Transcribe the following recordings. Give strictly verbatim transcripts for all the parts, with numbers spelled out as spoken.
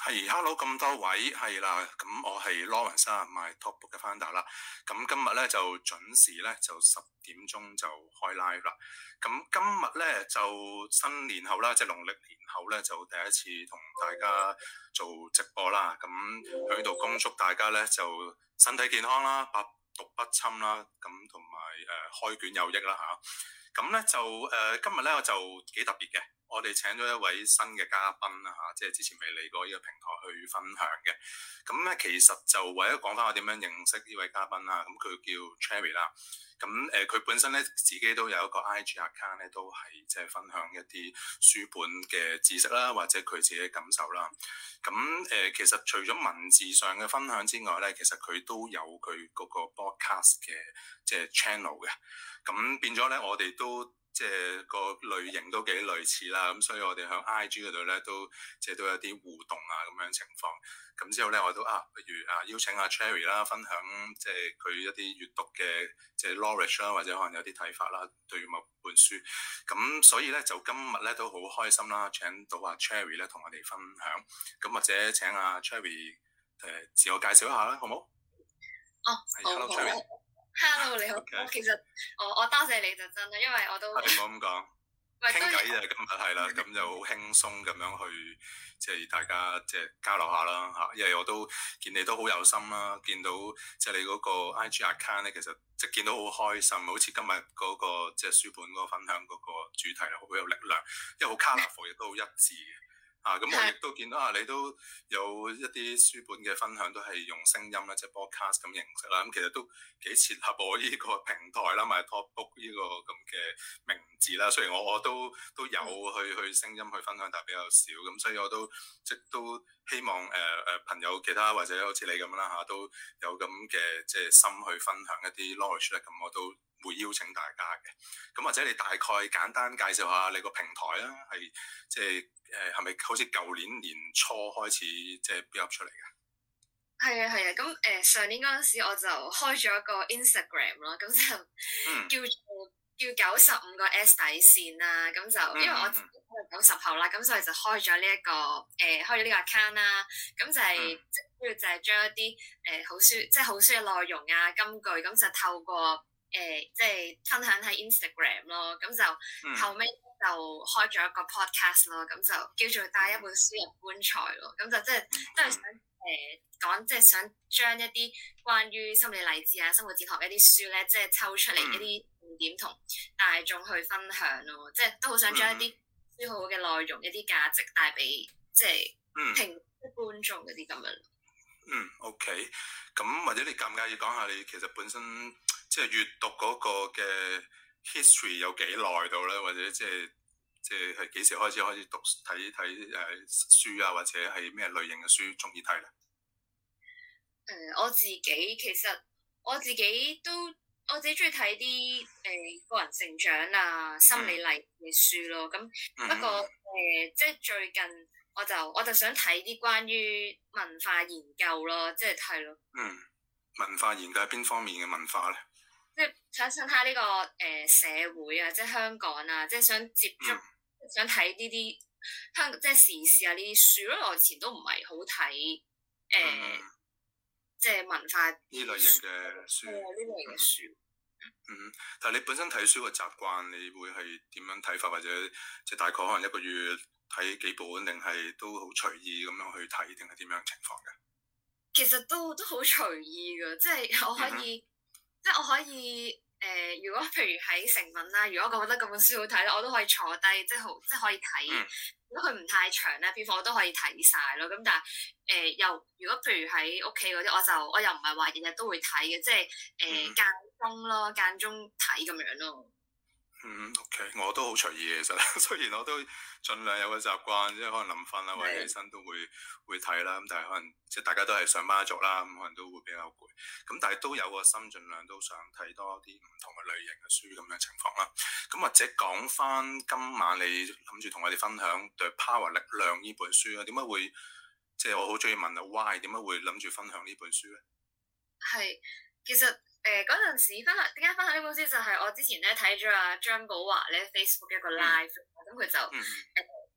係，hello 咁多位，係啦，咁我係 Lawrence 啊，MyTalkBook 嘅 founder 啦。咁今日咧就準時咧就十點鐘就開 live 啦。咁今日咧就新年後啦，即係農曆年後咧就第一次同大家做直播啦。咁喺度恭祝大家咧就身體健康啦，百毒不侵啦，咁同埋誒開卷有益啦吓。咁咧就誒、呃、今日咧我就幾特別嘅。我哋請咗一位新嘅嘉賓啦嚇，即係之前未嚟過呢個平台去分享嘅。咁咧其實就為咗講翻我點樣認識呢位嘉賓啦。咁佢叫 Cherry 啦。咁誒佢本身咧自己都有一個 I G account 咧，都係即係分享一啲書本嘅知識啦，或者佢自己嘅感受啦。咁誒其實除咗文字上嘅分享之外咧，其實佢都有佢嗰個 podcast 嘅即係 channel 嘅。咁變咗咧，我哋都即係個類型都幾類似啦，咁所以我哋喺 I G 嗰度咧都即係都有啲互動啊咁樣情況。咁之後咧我都啊，不如啊邀請阿 Cherry 啦，分享即係佢一啲閱讀嘅即係 knowledge 啦，或者可能有啲睇法啦，對某本書。咁所以咧就今日咧都好開心啦，請到阿 Cherry 咧同我哋分享。咁或者請阿 Cherry 誒自我介紹一下啦，好唔好？ 哦，好 Hello Cherry。 Hello， 你好。 Okay. 其實我我多謝你就真啦，因為我都你唔好咁講，傾偈啫。今日係啦，咁就好輕鬆咁樣去，即係大家即係交流下啦嚇。因為我都見你都好有心啦，見到即係你嗰個 I G account 咧，其實即係見到好開心，好似今日嗰個即係書本嗰個分享嗰個主題係好有力量，因為好 colourful 亦都好一致嘅。啊，咁我亦都見到啊，你都有一啲書本嘅分享都係用聲音啦，即係 podcast 咁形式啦。咁其實都幾切合我呢個平台啦，咪 MyTalkBook 呢個咁嘅名字啦。雖然我我都都有去去聲音去分享，但係比較少。咁所以我都即都希望誒誒、呃、朋友其他或者好似你咁啦嚇，都有咁嘅即係心去分享一啲 knowledge 咧。咁我都會邀請大家嘅。咁或者你大概簡單介紹下你個平台啦，係即係誒係咪好似舊年年初開始即係 build up 出嚟嘅？ 係啊係啊，咁誒、呃、上年嗰陣時我就開咗一個 Instagram 啦，咁就叫做、嗯、叫九十五個 S 底線啦，咁就、嗯、因為我自己係九十後啦，咁所以就開咗呢一個誒、呃、開咗呢個 account 啦，咁就係主要就係將一啲誒、呃、好書即係好書嘅內容啊金句，咁就透過誒、呃，即係分享喺 Instagram 咯，咁就、嗯、後尾就開咗一個 podcast 咯，咁就叫做帶一本書入棺材咯，咁就即係都係想誒講，即係想將一啲關於心理勵志啊、生活哲學一啲書咧，即係抽出嚟一啲重點同大眾去分享咯，即係都好想將一啲書好嘅內容、一啲價值帶俾即係聽觀眾嗰啲咁樣。 嗯 ，OK，咁或者你介唔介意講下你其實本身即係閱讀嗰個嘅 history 有幾耐到咧？或者即係即係係幾時開始開始讀睇睇誒書啊？或者係咩類型嘅書中意睇咧？ 誒、呃，我自己其實我自己都我自己中意睇啲誒個人成長啊、心理勵志嘅書咯。咁、嗯、不過誒、呃，即係最近。我就我就想睇啲關於文化研究咯，即係係咯。嗯， 文化研究係邊方面嘅文化咧？ 即係想想睇呢個誒、呃、社會啊，即係香港啊，即係想接觸，嗯、想睇呢啲香即係時事啊呢啲書咯。我以前都唔係好睇誒，呃嗯、即係文化呢類型嘅書。 呢、嗯、類型嘅書。 嗯，但係你本身睇書嘅習慣，你會係點樣睇法？或者即係大概可能一個月睇幾本，定係都好隨意咁樣去睇，定係點樣情況嘅？ 其實都都好隨意㗎，即係我可以，嗯、即係我可以誒、呃。如果譬如喺成文啦，如果我覺得嗰本書好睇咧，我都可以坐低，即係好，即係可以睇。嗯、如果佢唔太長咧，篇幅我都可以睇晒咯。咁但係誒、呃，又如果譬如喺屋企嗰啲，我就我又唔係話日日都會睇嘅，即係誒間中咯，間中睇咁樣咯。 嗯 OK，我都好隨意嘅，其實雖然我都盡量有個習慣，即係可能臨瞓啦或者起身都會會睇啦，咁但係可能即係大家都係上班族啦，咁可能都會比較攰，咁但係都有個心，盡量都想睇多啲唔同嘅類型嘅書咁樣情況啦。咁或者講翻今晚你諗住同我哋分享《The Power》力量呢本書啊？點解會即係我好中意問啊 Why？ 點解會諗住分享呢本書咧？ 係，其實。誒嗰陣時分享點解分享呢本書，就係我之前咧睇咗阿張寶華咧 Facebook 一個 live，咁佢、嗯、就誒、呃、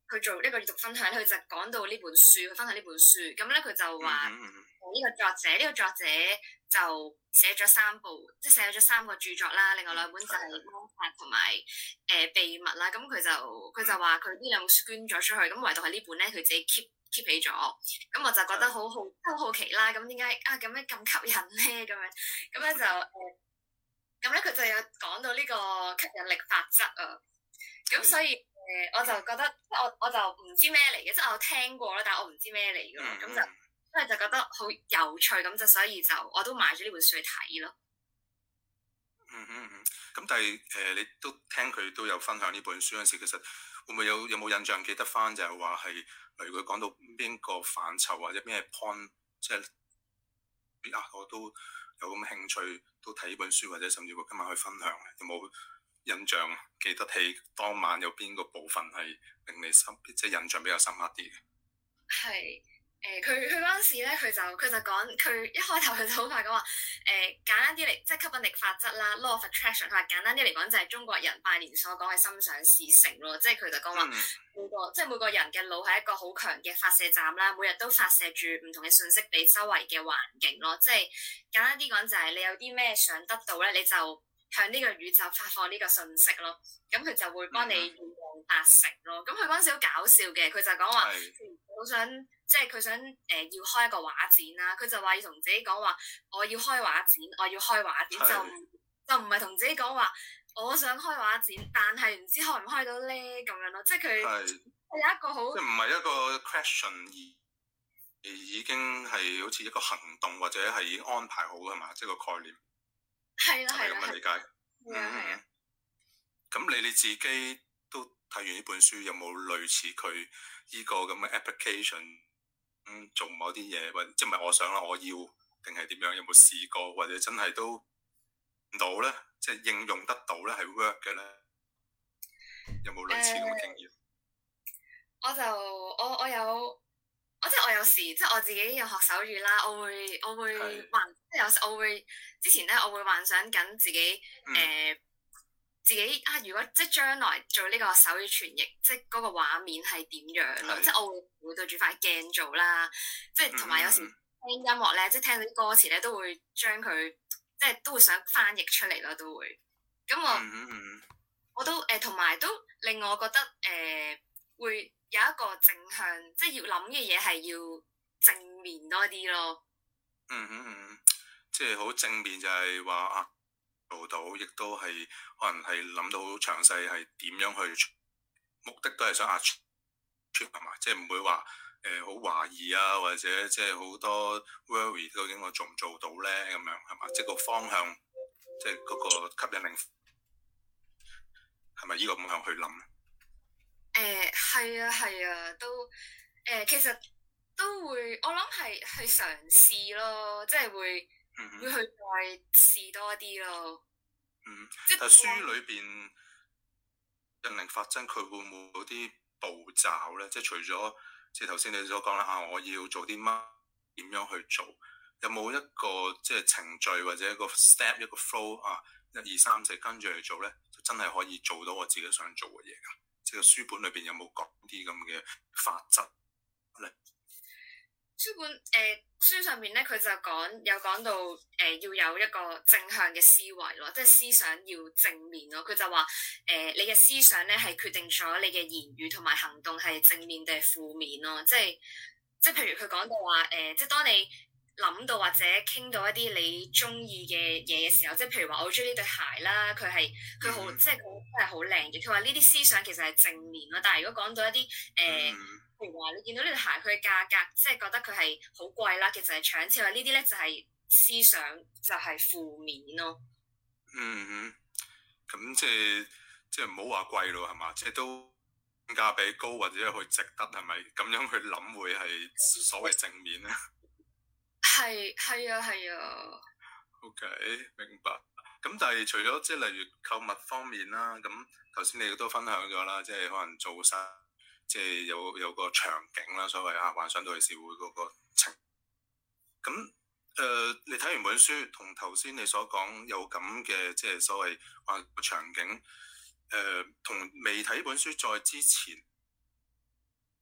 佢做呢個閱讀分享，佢就講到呢本書，佢分享呢本書。咁咧佢就話呢、嗯嗯、個作者，呢、這個作者就寫咗三部，即係寫咗三個著作啦。另外兩本就係《魔法》同埋誒《秘密》啦。咁佢就佢就話佢呢兩本書捐咗出去，咁唯獨係呢本咧，佢自己 keep keep 起咗。咁我就覺得好好，好好奇啦。咁點解啊咁樣咁吸引咧？咁樣咁咧就誒，咁咧佢就有講到呢個吸引力法則啊。咁所以誒、呃，我就覺得即係我我就唔知咩嚟嘅，即係我聽過啦，但係我唔知咩嚟嘅咯。咁、嗯、就因為就覺得好有趣，咁就所以就我都買咗呢本書去睇咯。 嗯嗯嗯。咁但係誒、呃，你都聽佢都有分享呢本書嗰陣時，其實會唔會有有冇印象記得翻就係話係，例如佢講到邊個範疇或者咩 point，即係啊，我都有咁興趣都睇呢本書，或者甚至乎今晚去分享，有冇印象記得起當晚有邊個部分係令你深，即係印象比較深刻啲嘅？ 係誒，佢佢嗰陣時咧，佢就佢就講，佢一開頭佢就好快講話誒，簡單啲嚟，即係吸引力法則啦 ，law of attraction。佢話簡單啲嚟講，就係中國人拜年所講嘅心想事成咯。即係佢就講話、嗯、每個即係每個人嘅腦係一個好強嘅發射站啦，每日都發射住唔同嘅信息俾周圍嘅環境咯。即係簡單啲講，就係你有啲咩想得到咧，你就向呢個宇宙發放呢個信息咯，咁佢就會幫你願望達成咯。咁佢嗰陣時好搞笑嘅，佢就講話好想，即係佢想誒、呃、要開一個畫展啦。佢就話要同自己講話，我要開畫展，我要開畫展，就就唔係同自己講話我想開畫展，但係唔知開唔開到咧咁樣咯。即係佢係有一個好， 即係唔係一個 question 而而已經係好似一個行動或者係已經安排好㗎嘛，即係個概念。 係啦，係啦， 咁嘅理解。 係啊，係啊。 咁你你自己都睇完呢本書，有冇類似佢呢個咁嘅 application？嗯，做某啲嘢，或者即係唔係我想啦，我要定係點樣？有冇試過，或者真係都唔到咧？即係應用得到咧，係 work 嘅咧？有冇類似咁嘅經驗？ 呃、我就我我有。我即係我有時即係我自己有學手語啦，我會我會幻是即係有時我會之前咧我會幻想緊自己誒、嗯呃、自己啊，如果即係將來做呢個手語傳譯，即係嗰個畫面係點樣咯？是即係我會會對住塊鏡做啦，即係同埋有時聽音樂咧，即係聽到啲歌詞咧，都會將佢即係都會想翻譯出嚟咯，都會咁我、嗯嗯、我都誒同埋都令我覺得誒、呃、會。有一個正向，即係要諗嘅嘢係要正面多啲咯。 嗯哼嗯，即係好正面就係話啊做到，亦都係可能係諗到好詳細係點樣去，目的都係想 achieve 係嘛，即係唔會話誒好懷疑啊，或者即係好多 worry 究竟我做唔做到咧咁樣係嘛，即係個方向，即係嗰個吸引力係咪依個咁向去諗咧？ 誒係、呃、啊係啊，都誒、呃、其實都會，我諗係去嘗試咯，即係會、嗯、哼會去再試多啲咯。 嗯，即係書裏邊引力法則，佢會唔會有啲步驟咧？即係除咗即係頭先你所講啦，啊我要做啲乜，點樣去做？有冇一個即係程序或者一個 step 一個 flow 啊？一二三四跟住去做咧，就真係可以做到我自己想做嘅嘢㗎。即係書本裏邊有冇講啲咁嘅法則咧？ 書本誒、呃、書上面咧，佢就講有講到誒、呃、要有一個正向嘅思維咯，即係思想要正面咯。佢就話誒、呃、你嘅思想咧係決定咗你嘅言語同埋行動係正面定係負面咯。即係即係譬如佢講到話誒、呃，即係當你諗到或者傾到一啲你中意嘅嘢嘅時候，即係譬如話我中意呢對鞋啦，佢係佢好即係佢真係好靚嘅。佢話呢啲思想其實係正面咯，但係如果講到一啲誒，呃嗯、譬如話你見到呢對鞋佢嘅價格，即係覺得佢係好貴啦，其實係搶錢，話呢啲咧就係思想就係負面咯。 嗯哼，咁即係即係唔好話貴咯，係嘛？即係都性價比高或者去值得係咪？咁樣去諗會係所謂正面咧？ 係係啊係啊。 OK，明白。咁但係除咗即係例如購物方面啦，咁頭先你都分享咗啦，即係可能做晒，即係有有個場景啦，所謂啊幻想到去社會嗰個情。咁誒、呃，你睇完本書，同頭先你所講有咁嘅即係所謂幻想場景，誒、呃，同未睇本書再之前，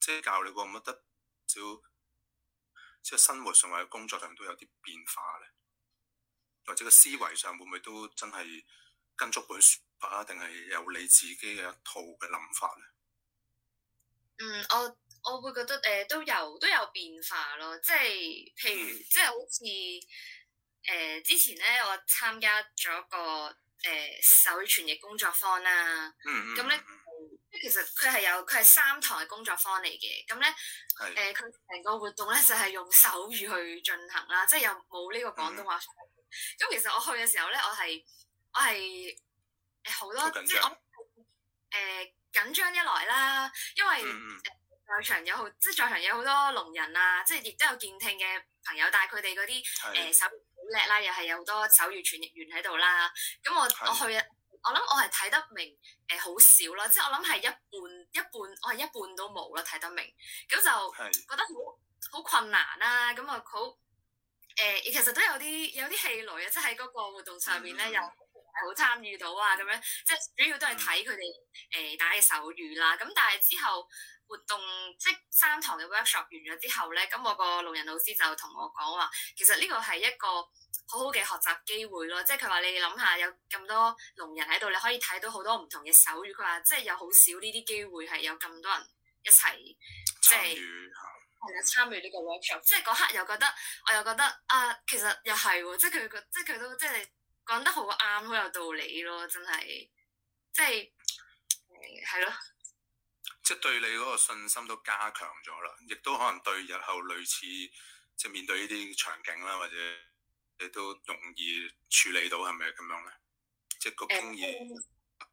即係教你覺唔覺得少即係生活上或者工作上都有啲變化咧？或者個思維上會唔會都真係跟足本書啊？定係有你自己嘅一套嘅諗法咧？ 嗯，我我會覺得誒、呃、都有都有變化咯，即係譬如、嗯、即係好似誒、呃、之前咧，我參加咗個誒、呃、手語傳譯工作坊啦，咁咧即係其實佢係有佢係三堂嘅工作坊嚟嘅，咁咧誒佢成個活動咧就係、是、用手語去進行啦，即係又冇呢個廣東話。嗯咁其實我去嘅時候咧，我係我係誒好多即係我誒、呃、緊張一來啦，因為誒、嗯呃、在場有好即係在場有好多聾人啊，即係亦都有健聽嘅朋友，但係佢哋嗰啲誒手語好叻啦，又係有好多手語傳譯員喺度啦。咁我我去我諗我係睇得明誒好少啦，即係我諗係一半一半，我係一半都冇啦睇得明，咁就覺得好好困難啦。咁啊好。誒、呃，其實都有啲有啲氣餒啊，即係喺嗰個活動上面咧，又係好參與到啊，咁樣即係主要都係睇佢哋誒打嘅手語啦。咁但係之後活動即係三堂嘅 workshop 完咗之後咧，咁我個聾人老師就同我講話，其實呢個係一個好好嘅學習機會咯。即係佢話你諗下，有咁多聾人喺度，你可以睇到好多唔同嘅手語。佢話即係有好少呢啲機會係有咁多人一齊即係。係啊，參與呢個 workshop，即係嗰刻又覺得，我又覺得啊，其實又係喎，即係佢個，即係佢都即係講得好啱，好有道理咯，真係，即係誒係咯， 即係對你嗰個信心都加強咗啦，亦都可能對日後類似即係面對呢啲場景啦，或者你都容易處理到，係咪咁樣咧？即係個經驗，呃、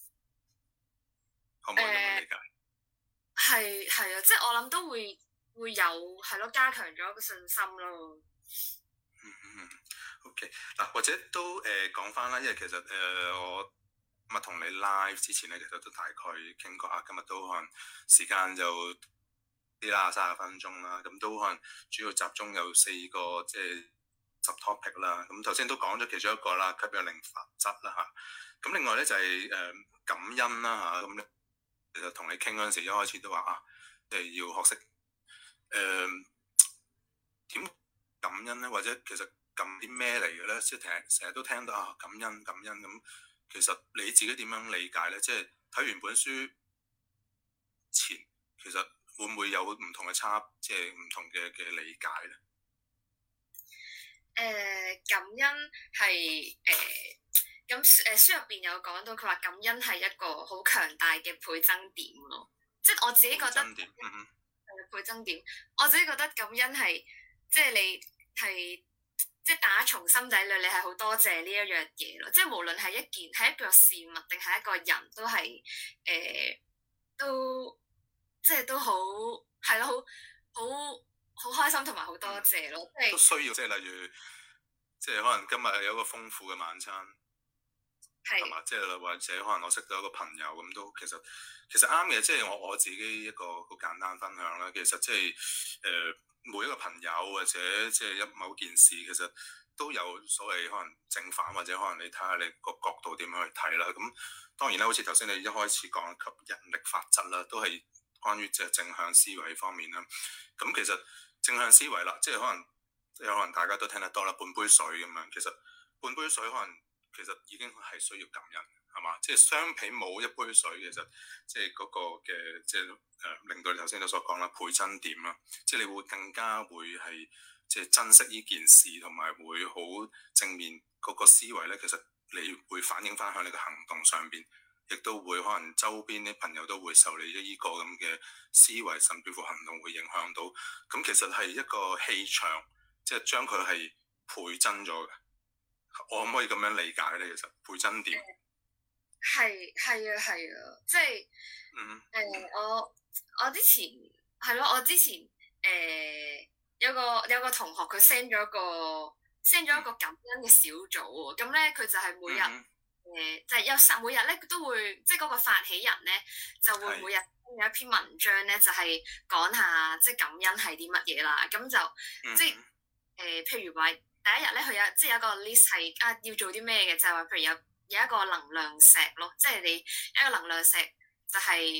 可唔可以咁樣理解？ 係係啊，即係我諗都會。會有係咯，加強咗個信心咯。 嗯嗯 OK 嗱，或者都誒講翻啦，因為其實誒、呃、我今日同你 live 之前咧，其實都大概傾過下，今日都可能時間就啲啦，三十分鐘啦，咁都可能主要集中有四個即係 sub topic 啦。咁頭先都講咗其中一個啦，吸引力法則啦嚇。咁另外咧就係、是、誒、呃、感恩啦嚇。咁、啊、其實同你傾嗰陣時，一開始都話啊，即、就、係、是、要學識。誒點、呃、感恩咧？或者其實感啲咩嚟嘅咧？即係成成日都聽到啊，感恩感恩咁。其實你自己點樣理解咧？即係睇完本書前，其實會唔會有唔同嘅差，即係唔同嘅嘅理解咧？ 誒、呃、感恩係誒咁誒書入邊有講到，佢話感恩係一個好強大嘅倍增點咯。即係我自己覺得。嗯倍增點，我自己覺得感恩係即係你係即係打從心底裏，你係好多謝呢一樣嘢咯。即係無論係一件係一個事物定係一個人都係誒、呃、都即係都好係咯，好好好開心同埋好多謝咯。即係、嗯、 都需要即係例如即係可能今日有一個豐富嘅晚餐。係嘛？即係或者可能我識到一個朋友咁都其實其實啱嘅，即係我我自己一個好簡單分享啦。其實即係誒每一個朋友或者即係一某件事，其實都有所謂可能正反，或者可能你睇下你個角度點樣去睇啦。咁當然啦，好似頭先你一開始講吸引力法則啦，都係關於即係正向思維方面啦。咁其實正向思維啦，即係可能有可能大家都聽得多啦，半杯水咁樣。其實半杯水可能。其實已經係需要感恩，係嘛？即係相比冇一杯水，其實即係嗰個嘅即係誒、呃，令到你頭先都所講啦，倍增點啦，即係你會更加會係即係珍惜呢件事，同埋會好正面嗰個思維咧。其實你會反映翻喺你嘅行動上邊，亦都會可能周邊啲朋友都會受你呢個咁嘅思維，甚至乎行動會影響到。咁其實係一個氣場，即係將佢係倍增咗嘅。我可唔可以咁樣理解咧？其實倍增點係係啊係啊，即係誒、 嗯呃、我我之前係咯，我之前誒、呃、有個有個同學佢 send 咗個 send 咗一個感恩嘅小組喎，咁咧佢就係每日誒、嗯呃、就係、是、有十每日咧都會即係嗰個發起人咧就會每日有一篇文章咧就係、是、講下即係感恩係啲乜嘢啦，咁就、嗯、即係誒、呃、譬如話。第一日咧，佢有即係有一個 list 係啊，要做啲咩嘅，就係話譬如有有一個能量石咯，即係你一個能量石就係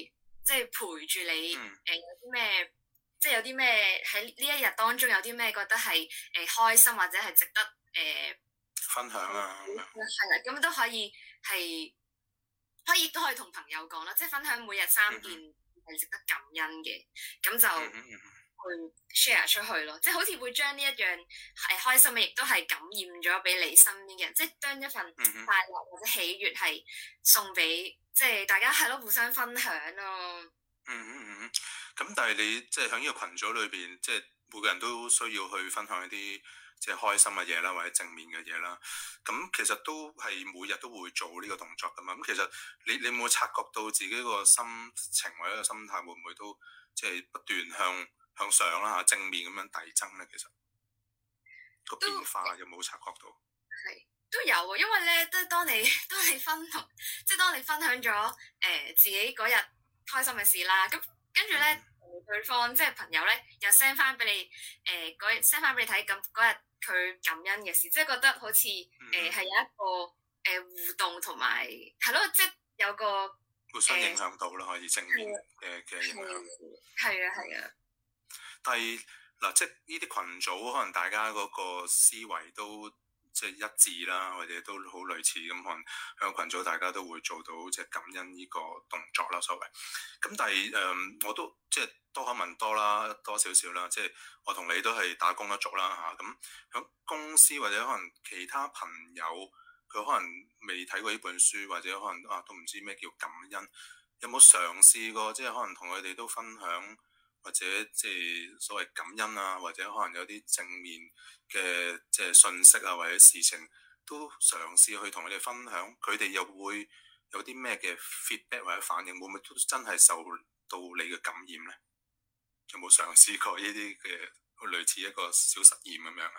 即係陪住你誒、 嗯呃、有啲咩，即係有啲咩喺呢一日當中有啲咩覺得係誒、呃、開心或者係值得誒、呃、 分享啊， 係啦，咁都可以係可以都可以同朋友講啦，即係分享每日三件係值得感恩嘅，咁就去 share 出去咯，即係好似會將呢一樣係開心嘅，亦都係感染咗俾你身邊嘅人，即係將一份快樂或者喜悅係送俾即係大家係咯，互相分享咯。 嗯嗯嗯，咁但係你即係喺呢個群組裏邊，即係每個人都需要去分享一啲即係開心嘅嘢啦，或者正面嘅嘢啦。咁其實都係每日都會做呢個動作噶嘛。咁其實你你有冇察覺到自己個心情或者個心態會唔會都即係不斷向向上啦嚇，正面咁樣遞增咧？其實個變化有冇察覺到？ 係都有啊，因為咧，即係當你當你分同，即係當你分享咗誒、呃、自己嗰日開心嘅事啦，咁跟住咧，嗯、對方即係朋友咧，又 send 翻俾你誒嗰 send 翻俾你睇，咁嗰日佢感恩嘅事，即係覺得好似誒係有一個誒、呃、互動同埋係咯，即係有個互相影響到啦，呃、可以正面嘅嘅影響。 係啊係啊。 但係嗱，即係呢啲群組，可能大家嗰個思維都即係一致啦，或者都好類似咁，可能喺個群組大家都會做到即係感恩呢個動作啦，所謂。咁但係誒、嗯，我都即係多口問多啦，多少少啦，即係我同你都係打工一族啦嚇。咁、啊、喺公司或者可能其他朋友，佢可能未睇過呢本書，或者可能啊都唔知咩叫感恩，有冇嘗試過即係可能同佢哋都分享？或者即係所謂感恩啊，或者可能有啲正面嘅即係信息啊，或者事情都嘗試去同佢哋分享，佢哋又會有啲咩嘅 feedback 或者反應，會唔會都真係受到你嘅感染咧？有冇嘗試過呢啲嘅類似一個小實驗咁樣啊？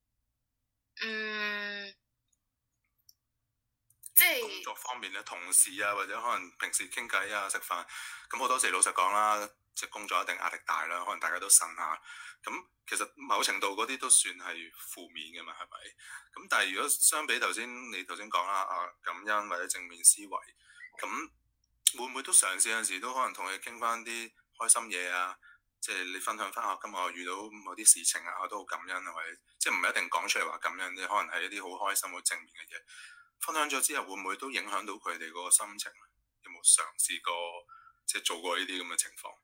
嗯，即係工作方面咧，同事啊，或者可能平時傾偈啊、食飯，咁好多時老實講啦。即係工作一定壓力大啦，可能大家都呻下。咁其實某程度嗰啲都算係負面嘅嘛，係咪？咁但係如果相比頭先你頭先講啦，啊感恩或者正面思維，咁會唔會都嘗試有陣時都可能同佢傾翻啲開心嘢啊？即係你分享翻下今日我遇到某啲事情啊，我都好感恩啊，或者即係唔一定講出嚟話感恩啫，可能係一啲好開心、好正面嘅嘢。分享咗之後，會唔會都影響到佢哋嗰個心情？有冇嘗試過即係做過呢啲咁嘅情況？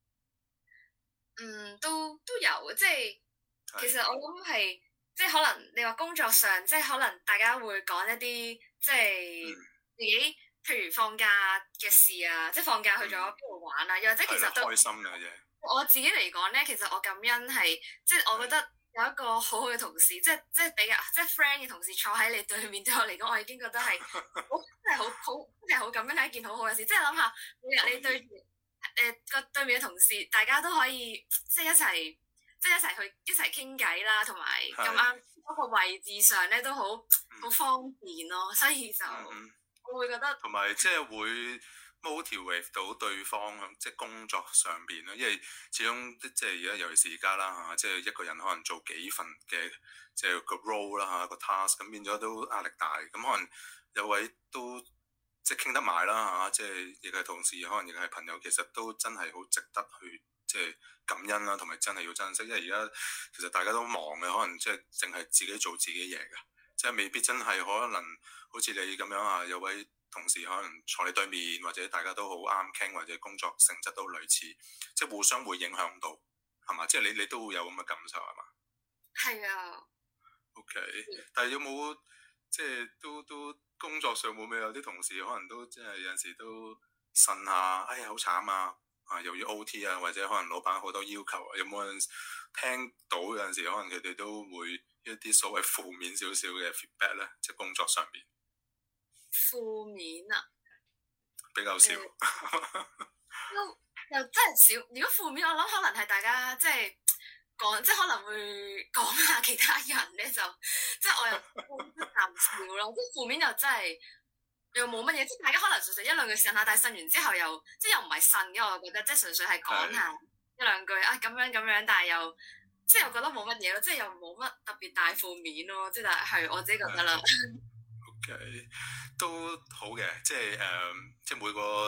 嗯，都都有，即係其實我諗係，即係可能你話工作上，即係可能大家會講一啲，即係自己，譬如放假嘅事啊，即係放假去咗邊度玩啊，又或者其實都開心嘅嘢。 我自己嚟講咧，其實我感恩係，即係我覺得有一個好好嘅同事，即係即係比較即係 friend 嘅同事坐喺你對面，對我嚟講，我已經覺得係好真係好好真係好感恩，係一件好好嘅事。即係諗下每日你對住。誒個、呃、對面嘅同事，大家都可以即係一齊，即係一齊去一齊傾偈啦，同埋咁啱嗰個位置上咧都好好、嗯、方便咯，所以就、嗯、我會覺得同埋即係會 motivate 到對方即係工作上邊啦，因為始終即係而家尤其是而家啦嚇，即係一個人可能做幾份嘅即係個 role 啦嚇，個 task 咁變咗都壓力大，咁可能有位都。即係傾得埋啦嚇，即係亦係同事，可能亦係朋友，其實都真係好值得去即係感恩啦，同埋真係要珍惜。因為而家其實大家都忙嘅，可能即係淨係自己做自己嘢嘅，即係未必真係可能好似你咁樣啊，有位同事可能坐你對面，或者大家都好啱傾，或者工作性質都類似，即係互相會影響到，係嘛？即係你你都會有咁嘅感受係嘛？ 係啊。 OK，但係有冇即係都都？都工作上會唔會有啲同事可能都即係有陣時都呻下，哎呀好慘啊！啊又要 O T 啊，或者可能老闆好多要求啊，有冇人聽到有陣時可能佢哋都會一啲所謂負面少少嘅 feedback 咧，即係工作上邊。 負面啊？ 比較少。 又又真係少。如果負面，我諗可能係大家即係。講即係可能會講下其他人咧，就即係我又淡笑咯。即係負面又真係又冇乜嘢，即係大家可能純粹一兩句呻下，但係呻完之後又即係又唔係呻嘅，我覺得即係純粹係講下一兩句啊咁樣咁樣，但係又即係又覺得冇乜嘢咯，即係又冇乜特別大負面咯，即係但係我自己覺得啦。 OK，都好嘅，即係誒、呃，即係每個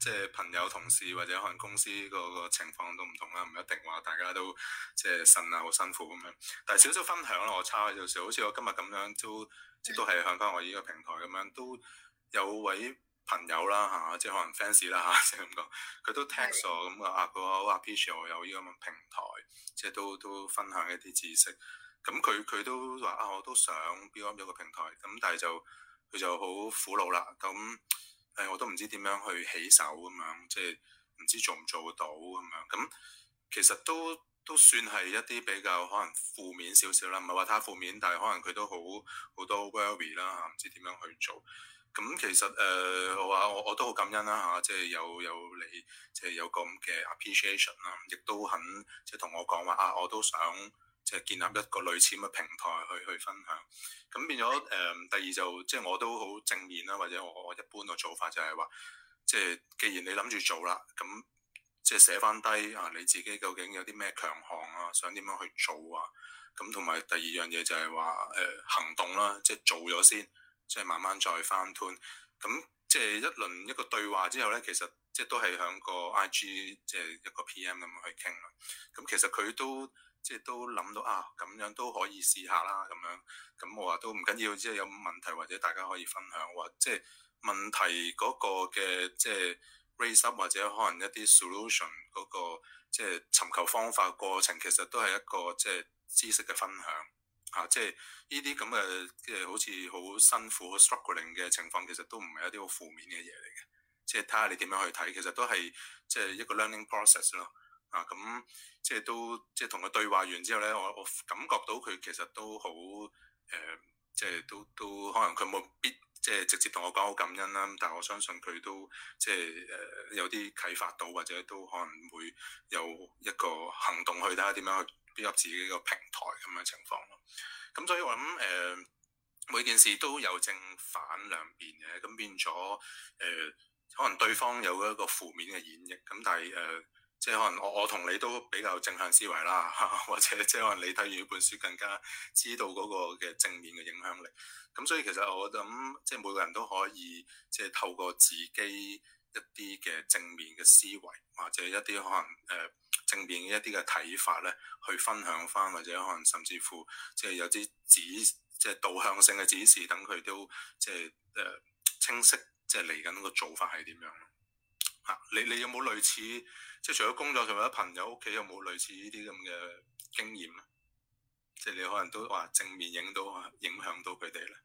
即係朋友、同事或者可能公司個個情況都唔同啦，唔一定話大家都即係呻啊好辛苦咁樣。但係少少分享啦，我差少少，好似我今日咁樣都即都係向翻我依個平台咁樣，都有位朋友啦嚇、啊，即係可能 fans 啦嚇，即係咁講，佢都 text 我咁啊，佢話好 appreciate 我有依個咁嘅平台，即係都都分享一啲知識。咁佢佢都話啊，我都想 build up 一個平台，咁但係就佢就好苦惱啦。咁誒、哎，我都唔知點樣去起手咁樣，即係唔知做唔做到咁樣。咁其實都都算係一啲比較可能負面少少啦，唔係話太負面，但係可能佢都好好多 worry 啦嚇，唔知點樣去做。咁其實誒、呃，我話我我都好感恩啦嚇、啊，即係有有你即係有咁嘅 appreciation 啦，亦都肯即係同我講話啊，我都想。即係建立一個類似嘅平台去去分享，咁變咗誒、呃。第二就即係我都好正面啦，或者我我一般嘅做法就係話，即係既然你諗住做啦，咁即係寫翻低啊，你自己究竟有啲咩強項啊，想點樣去做啊？咁同埋第二樣嘢就係話誒行動啦，即係做咗先，即係慢慢再翻 turn。咁即係一輪一個對話之後咧，其實即係都係響個 I G 即係一個 P M 咁樣去傾啦。咁其實佢都。即係都諗到啊，咁樣都可以試下啦，咁樣咁我話都唔緊要，即係有問題或者大家可以分享，或即係問題嗰個嘅即係 raise up 或者可能一啲 solution 嗰個即係尋求方法過程，其實都係一個即係知識嘅分享啊！即係呢啲咁嘅即係好似好辛苦、好 struggling 嘅情況，其實都唔係一啲好負面嘅嘢嚟嘅。即係睇下你點樣去睇，其實都係即係一個 learning process 咯。啊，咁即係都即係同佢對話完之後咧，我我感覺到佢其實都好誒、呃，即係都都可能佢冇必即係直接同我講好感恩啦。但係我相信佢都即係誒、呃、有啲啟發到，或者都可能會有一個行動去睇下點樣去 build up 自己個平台咁嘅情況咯。咁所以我諗誒、呃、每件事都有正反兩邊嘅，咁變咗誒、呃、可能對方有一個負面嘅演繹，咁但係誒。呃即係可能我我同你都比較正向思維啦，或者即係可能你睇完呢本書更加知道嗰個嘅正面嘅影響力。咁所以其實我諗即係每個人都可以即係透過自己一啲嘅正面嘅思維，或者一啲可能誒、呃、正面嘅一啲嘅睇法咧，去分享翻，或者可能甚至乎即係有啲指即係導向性嘅指示，等佢都即係誒、呃、清晰，即係嚟緊個做法係點樣。啊！你你有冇類似即係除咗工作上或者朋友屋企有冇類似呢啲咁嘅經驗咧？即係你可能都話正面影到影響到佢哋咧。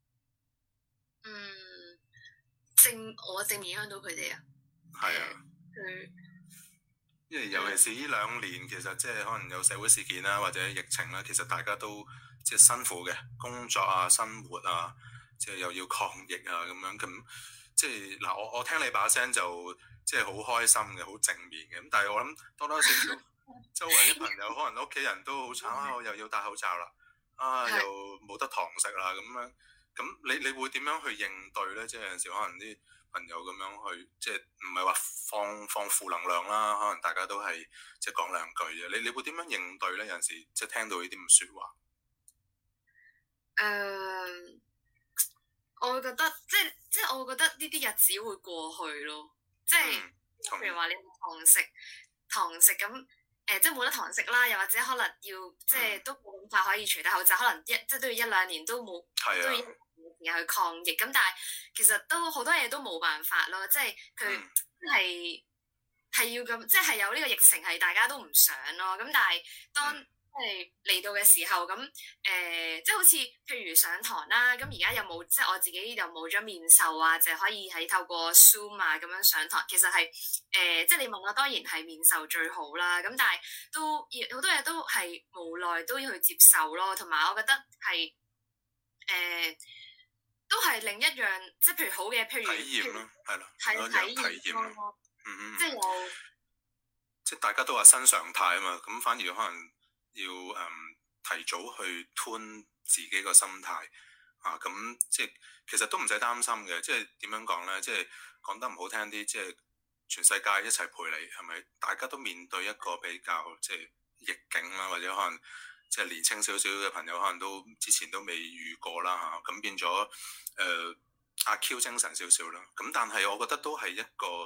嗯，正我正面影響到佢哋啊。 係啊。 佢、嗯、 因為尤其是呢兩年，其實即係可能有社會事件啦，或者疫情啦，其實大家都即係辛苦嘅工作啊、生活啊，即係又要抗疫啊咁樣咁。即係嗱，我我聽你把聲就即係好開心嘅，好正面嘅。咁但係我諗多多少少周圍啲朋友，可能屋企人都好慘啊，我又要戴口罩啦，啊又冇得堂食啦咁樣。咁你你會點樣去應對咧？即係有陣時可能啲朋友咁樣去，即係唔係話放放負能量啦，可能大家都係即係講兩句啫。你你會點樣應對咧？有陣時即係聽到呢啲咁嘅説話。 誒。Uh, 我會覺得即係即係我會覺得呢啲日子會過去咯，即係譬、嗯、如話你堂食堂食咁誒、呃，即係冇得堂食啦，又或者可能要、嗯、即係都冇咁快可以除低口罩，可能一即係都要一兩年都冇，啊、都要一年時間去抗疫。咁但係其實都好多嘢都冇辦法咯，即係佢係係要咁，即係有呢個疫情係大家都唔想咯。咁但係當、嗯即係嚟到嘅時候，咁誒、呃，即係好似譬如上堂啦，咁而家有冇即係我自己又冇咗面授啊，就係可以喺透過 Zoom 啊咁樣上堂。其實係誒、呃，即係你問我當然係面授最好啦。咁但係都好多嘢都係無奈都要去接受咯。同埋我覺得係誒、呃，都係另一樣，即係譬如好嘅，譬如體驗咯，係咯， 係體驗咯， 嗯嗯， 即係有， 即係大家都話新常態啊嘛，咁反而可能。要誒、嗯、提早去 tune 自己個心態啊，咁即係其實都唔使擔心嘅，即係點樣講咧？即係講得唔好聽啲，即係全世界一齊陪你，係咪？大家都面對一個比較即係逆境啦，或者可能即係年輕少少嘅朋友，可能都之前都未遇過啦嚇，咁、啊、變咗誒阿 Q 精神少少啦。咁但係我覺得都係一個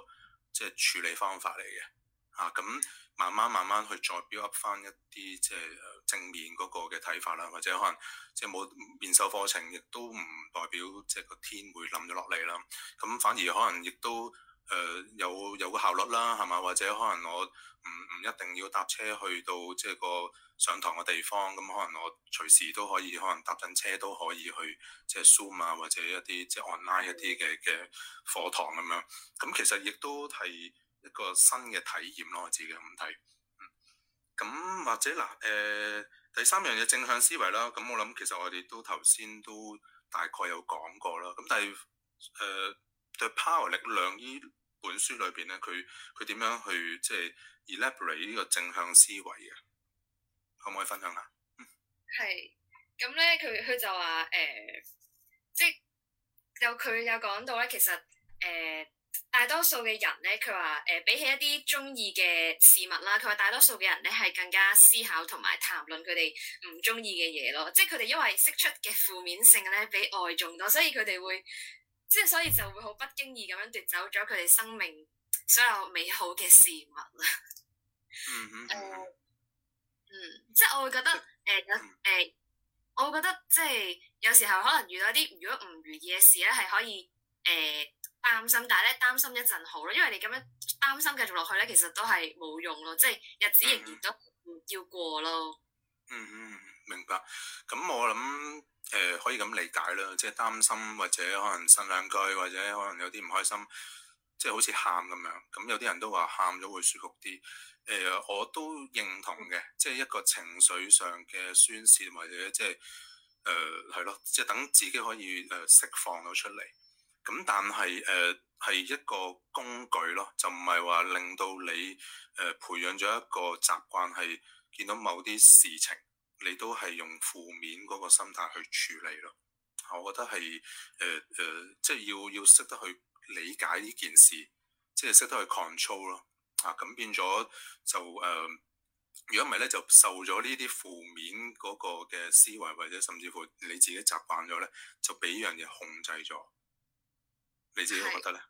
即係處理方法嚟嘅嚇。咁、啊、慢慢慢慢去再 build up 翻一啲即係正面嗰個嘅睇法啦，或者可能即係冇面授課程，亦都唔代表即係個天會冧咗落嚟啦。咁反而可能亦都誒、呃、有有個效率啦，係嘛？或者可能我唔唔一定要搭車去到即係個上堂嘅地方，咁可能我隨時都可以，可能搭緊車都可以去即係 Zoom 啊，或者一啲即係 online 一啲嘅嘅課堂咁樣。咁其實亦都係一個新嘅體驗咯，我自己咁睇。咁、嗯、或者嗱，誒、呃、第三樣嘢正向思維啦。咁我諗其實我哋都頭先都大概有講過啦。咁但係誒、呃、The Power 力量呢本書裏邊咧，佢佢點樣去即係 elaborate 呢個正向思維嘅？可唔可以分享下？ 係咁咧，佢佢就話誒、呃，即係有佢有講到咧，其實誒、呃、大多數嘅人咧，佢話誒比起一啲中意嘅事物啦，佢話大多數嘅人咧係更加思考同埋談論佢哋唔中意嘅嘢咯。即係佢哋因為釋出嘅負面性咧比愛仲多，所以佢哋會即係所以就會好不經意咁樣奪走咗佢哋生命所有美好嘅事物啦。 嗯嗯。 誒。嗯，即係我會覺得誒有誒，我會覺得即係有時候可能遇到一啲如果唔如意嘅事咧，係可以誒擔、呃、心，但係咧擔心一陣好咯，因為你咁樣擔心繼續落去咧，其實都係冇用咯，即係日子仍然都要過咯。 嗯嗯，明白。咁我諗誒、呃、可以咁理解啦，即係擔心或者可能呻兩句，或者可能有啲唔開心，即係好似喊咁樣。咁有啲人都話喊咗會舒服啲。誒、呃，我都認同嘅，即係一個情緒上嘅宣泄，或者即係誒係咯，即係等自己可以誒、呃、釋放到出嚟。咁但係誒係一個工具咯，就唔係話令到你誒、呃、培養咗一個習慣，係見到某啲事情，你都係用負面嗰個心態去處理咯。我覺得係誒誒，即係要要識得去理解呢件事，即係識得去 control 咯。啊，咁變咗就誒，如果唔係咧，就受咗呢啲負面嗰個嘅思維，或者甚至乎你自己習慣咗咧，就俾呢樣嘢控制咗。你自己覺得咧？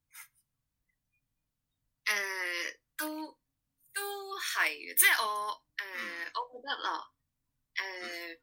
誒、呃，都都係，即係我誒，呃嗯、我覺得啦，誒、呃，嗯、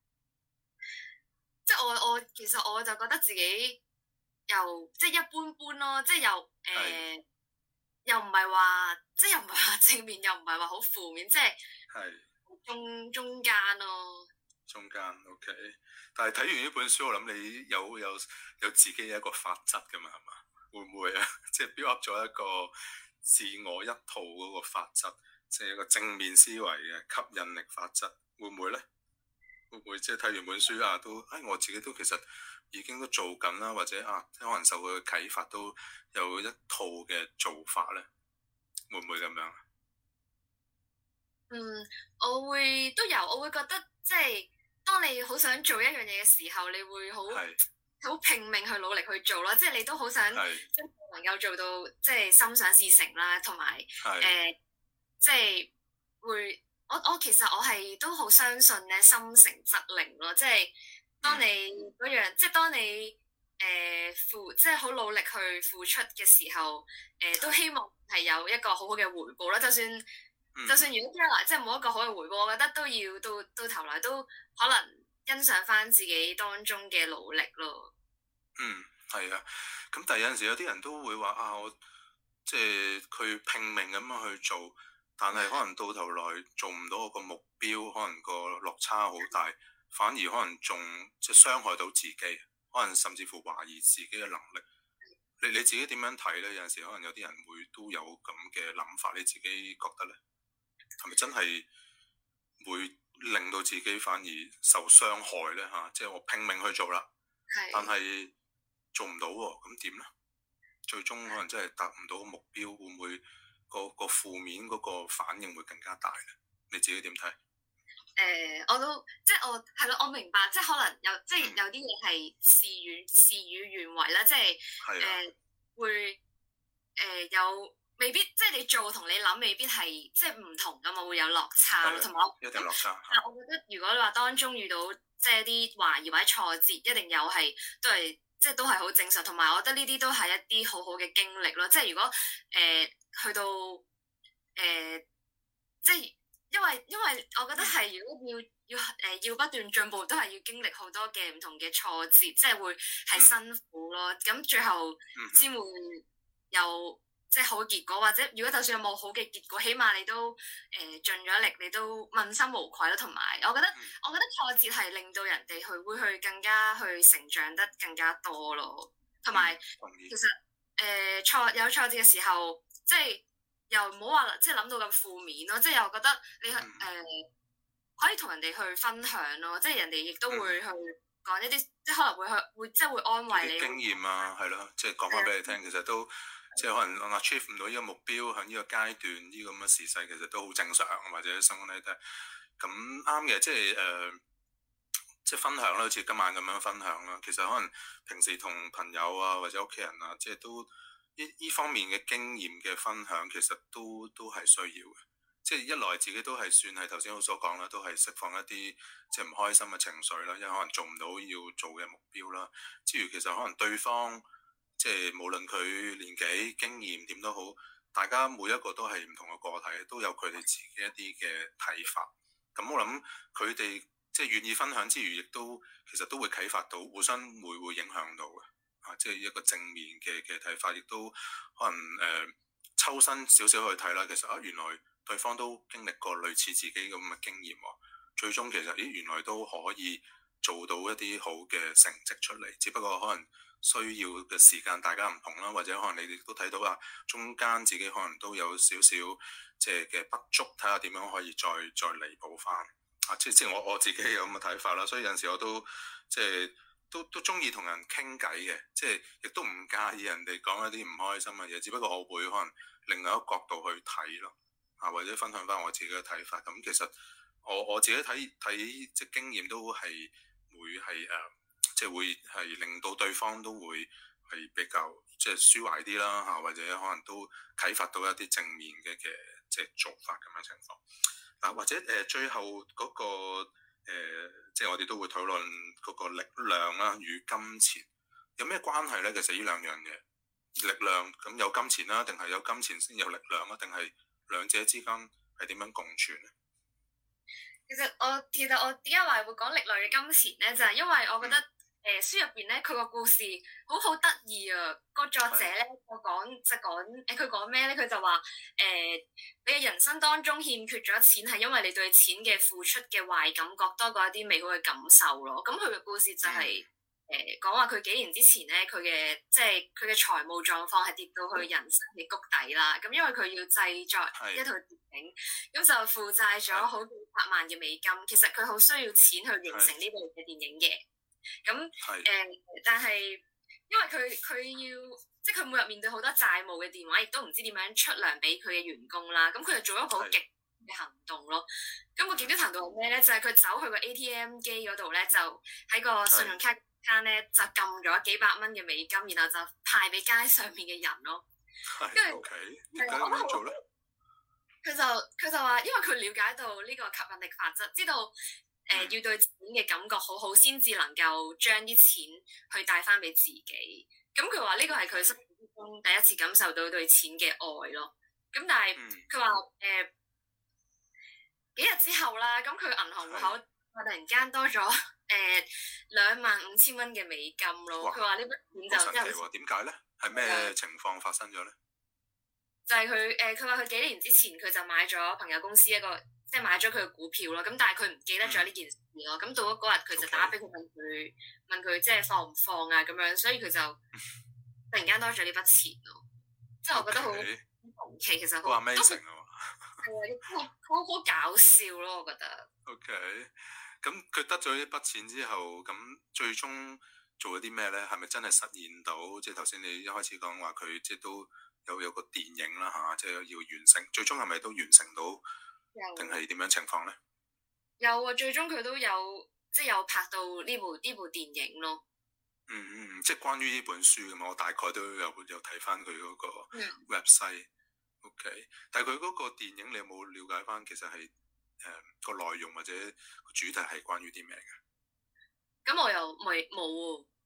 即係我我其實我就覺得自己又即係一般般咯，即係又誒。呃又唔係話，即係又唔係話正面，又唔係話好負面，即係中中間咯。 中間 OK，但係睇完呢本書，我諗你有有有自己一個法則噶嘛，係嘛？會唔會啊？即係 build up 咗一個自我一套嗰個法則，即係一個正面思維嘅吸引力法則，會唔會咧？會唔會即係睇完本書啊，都誒我自己都其實已經都做緊啦，或者啊，可能受佢嘅啟發都有一套嘅做法咧，會唔會咁樣？ 嗯，我會都有，我會覺得即係當你好想做一樣嘢嘅時候，你會好好拼命去努力去做啦，即係你都好想即係能夠做到即係心想事成啦，同埋誒即係會。我我其實我係都好相信咧，心誠則靈咯，即係當你嗰樣，嗯、即係當你誒、呃、付，即係好努力去付出嘅時候，誒、呃、都希望係有一個好好嘅回報啦。就算、嗯、就算如果將來即係冇一個好嘅回報，我覺得都要到到頭來都可能欣賞翻自己當中嘅努力咯。嗯， 係啊。咁但係有陣時有啲人都會話啊，我即係佢拼命咁樣去做。但係可能到頭來做唔到個目標，可能個落差好大，反而可能仲即係傷害到自己，可能甚至乎懷疑自己嘅能力。你你自己點樣睇咧？有陣時可能有啲人會都有咁嘅諗法，你自己覺得咧？係咪真係會令到自己反而受傷害咧？嚇、啊，即係我拼命去做啦， 是但係做唔到喎，咁點咧？最終可能真係達唔到個目標，會唔會？個個負面嗰個反應會更加大咧，你自己點睇？誒、 呃，我都即係我係咯，我明白，即係可能有即係有啲嘢係事與事與願違啦，即係誒、呃、會誒、呃、有未必，即係你做同你諗未必係即係唔同噶嘛，會有落差咯，同埋我一定落差。 但係我覺得如果你話當中遇到即係啲懷疑或者挫折，一定有係都係即係都係好正常，同埋我覺得呢啲都係一啲好好嘅經歷咯。即係如果誒、呃、去到誒、呃，即係因為因為我覺得係如果要要誒、呃、要不斷進步，都係要經歷好多嘅唔同嘅挫折，即係會係辛苦咯。咁、嗯、最後先會有即係好結果，或者如果就算有冇好嘅結果，起碼你都誒、呃、盡咗力，你都問心無愧咯。同埋我覺得、嗯、我覺得挫折係令到人哋去會去更加去成長得更加多咯。同埋、嗯、其實誒、呃、挫有挫折嘅時候，即係又唔好話即係諗到咁負面咯。即係又覺得你誒、呃、可以同人哋去分享咯。即係人哋亦都會去講一啲，即係可能會去會即係會安慰你經驗啊，係咯，即係講翻俾你聽，嗯、其實都。即係可能 achieve 唔到呢個目標，喺呢個階段呢個咁嘅時勢，其實都好正常，或者生活咧都係咁啱嘅。即係誒、呃，即係分享啦，好似今晚咁樣分享啦。其實可能平時同朋友啊，或者屋企人啊，即係都呢呢方面嘅經驗嘅分享，其實都都係需要嘅。即係一來自己都係算係頭先我所講啦，都係釋放一啲即係唔開心嘅情緒啦，因為可能做唔到要做嘅目標啦。之餘其實可能對方。即係無論佢年紀經驗點都好，大家每一個都係唔同嘅個體，都有佢哋自己一啲嘅睇法。咁我諗佢哋即係願意分享之餘，亦都其實都會啟發到，互相會會影響到嘅。啊，即係一個正面嘅嘅睇法，亦都可能誒、呃、抽身少少去睇啦。其實啊，原來對方都經歷過類似自己咁嘅經驗喎。最終其實咦，原來都可以做到一啲好嘅成績出嚟，只不過可能。需要嘅時間大家唔同啦，或者可能你哋都睇到啊，中間自己可能都有少少即係嘅不足，睇下點樣可以再再彌補翻啊！即即係我我自己有咁嘅睇法啦，所以有陣時我都即係都都中意同人傾偈嘅，即係亦都唔介意人哋講一啲唔開心嘅嘢，只不過我會可能另外一個角度去睇咯啊，或者分享翻我自己嘅睇法。咁其實我我自己睇睇即係經驗都係會係誒。呃即係會係令到對方都會係比較即係舒懷啲啦嚇，或者可能都啟發到一啲正面嘅嘅即係做法咁樣情況。嗱、啊、或者誒、呃、最後嗰、那個、呃、即係我哋都會討論嗰個力量啦與金錢有咩關係咧？其實呢兩樣嘢力量咁有金錢啦，定係有金錢先有力量啊？定係兩者之間係點樣共存咧？ 其實我其實我點解話會講力量與金錢咧？就係、是、因為我覺得、嗯。誒、呃、書入邊咧，佢個故事好好得意啊！個作者咧，我講就講誒，佢講咩咧？佢就話誒、呃，你嘅人生當中欠缺咗錢，係因為你對錢嘅付出嘅壞感覺多過一啲美好嘅感受咯。咁佢嘅故事就係誒講話佢幾年之前咧，佢嘅即係佢嘅財務狀況係跌到去人生嘅谷底啦。咁因為佢要製作一套電影，咁就負債咗好幾百萬嘅美金。其實佢好需要錢去完成呢部嘅電影嘅。咁誒、呃，但係因為佢佢要，即係佢每日面對好多債務嘅電話，亦都唔知點樣出糧俾佢嘅員工啦。咁佢就做一個好極嘅行動咯。咁個極端行動係咩咧？就係、是、佢走去個 A T M 機嗰度咧，就喺個信用卡卡咧就撳咗幾百蚊嘅美金，然後就派俾街上面嘅人咯。跟住，係啊，我覺得好。佢就佢就話，因為佢了解到呢個吸引力法則，知道。誒、呃、要對錢嘅感覺好好，先至能夠將啲錢去帶翻俾自己。咁佢話呢個係佢生活中第一次感受到對錢嘅愛咯。咁但係佢話誒幾日之後啦，咁佢銀行戶口突然間多咗誒兩萬五千蚊嘅美金咯。佢話呢筆錢就真係點解咧？係咩情況發生咗咧？ 就係佢誒，佢話佢幾年之前佢就買咗朋友公司一個。即係買咗佢嘅股票咯，咁但係佢唔記得咗呢件事咯。咁、嗯、到咗嗰日，佢就打俾佢問佢 Okay. 問佢即係放唔放啊咁樣，所以佢就突然間多咗呢筆錢咯。即係 Okay. 我覺得好神奇，其實好 amazing 啊，係啊，好好搞笑咯，我覺得。 OK，咁佢得咗呢筆錢之後，咁最終做咗啲咩咧？係咪真係實現到？即係頭先你一開始講話佢即係都有有個電影啦嚇，即係要完成。最終係咪都完成到？定係點樣情況咧？ 有啊，最終佢都有即係有拍到呢部呢部電影咯。 嗯嗯，即係關於呢本書嘅嘛，我大概都有有睇翻佢嗰個 website。嗯、OK，但係佢嗰個電影你有冇了解翻？其實係誒個內容或者個主題係關於啲咩嘅？ 咁我又未冇喎。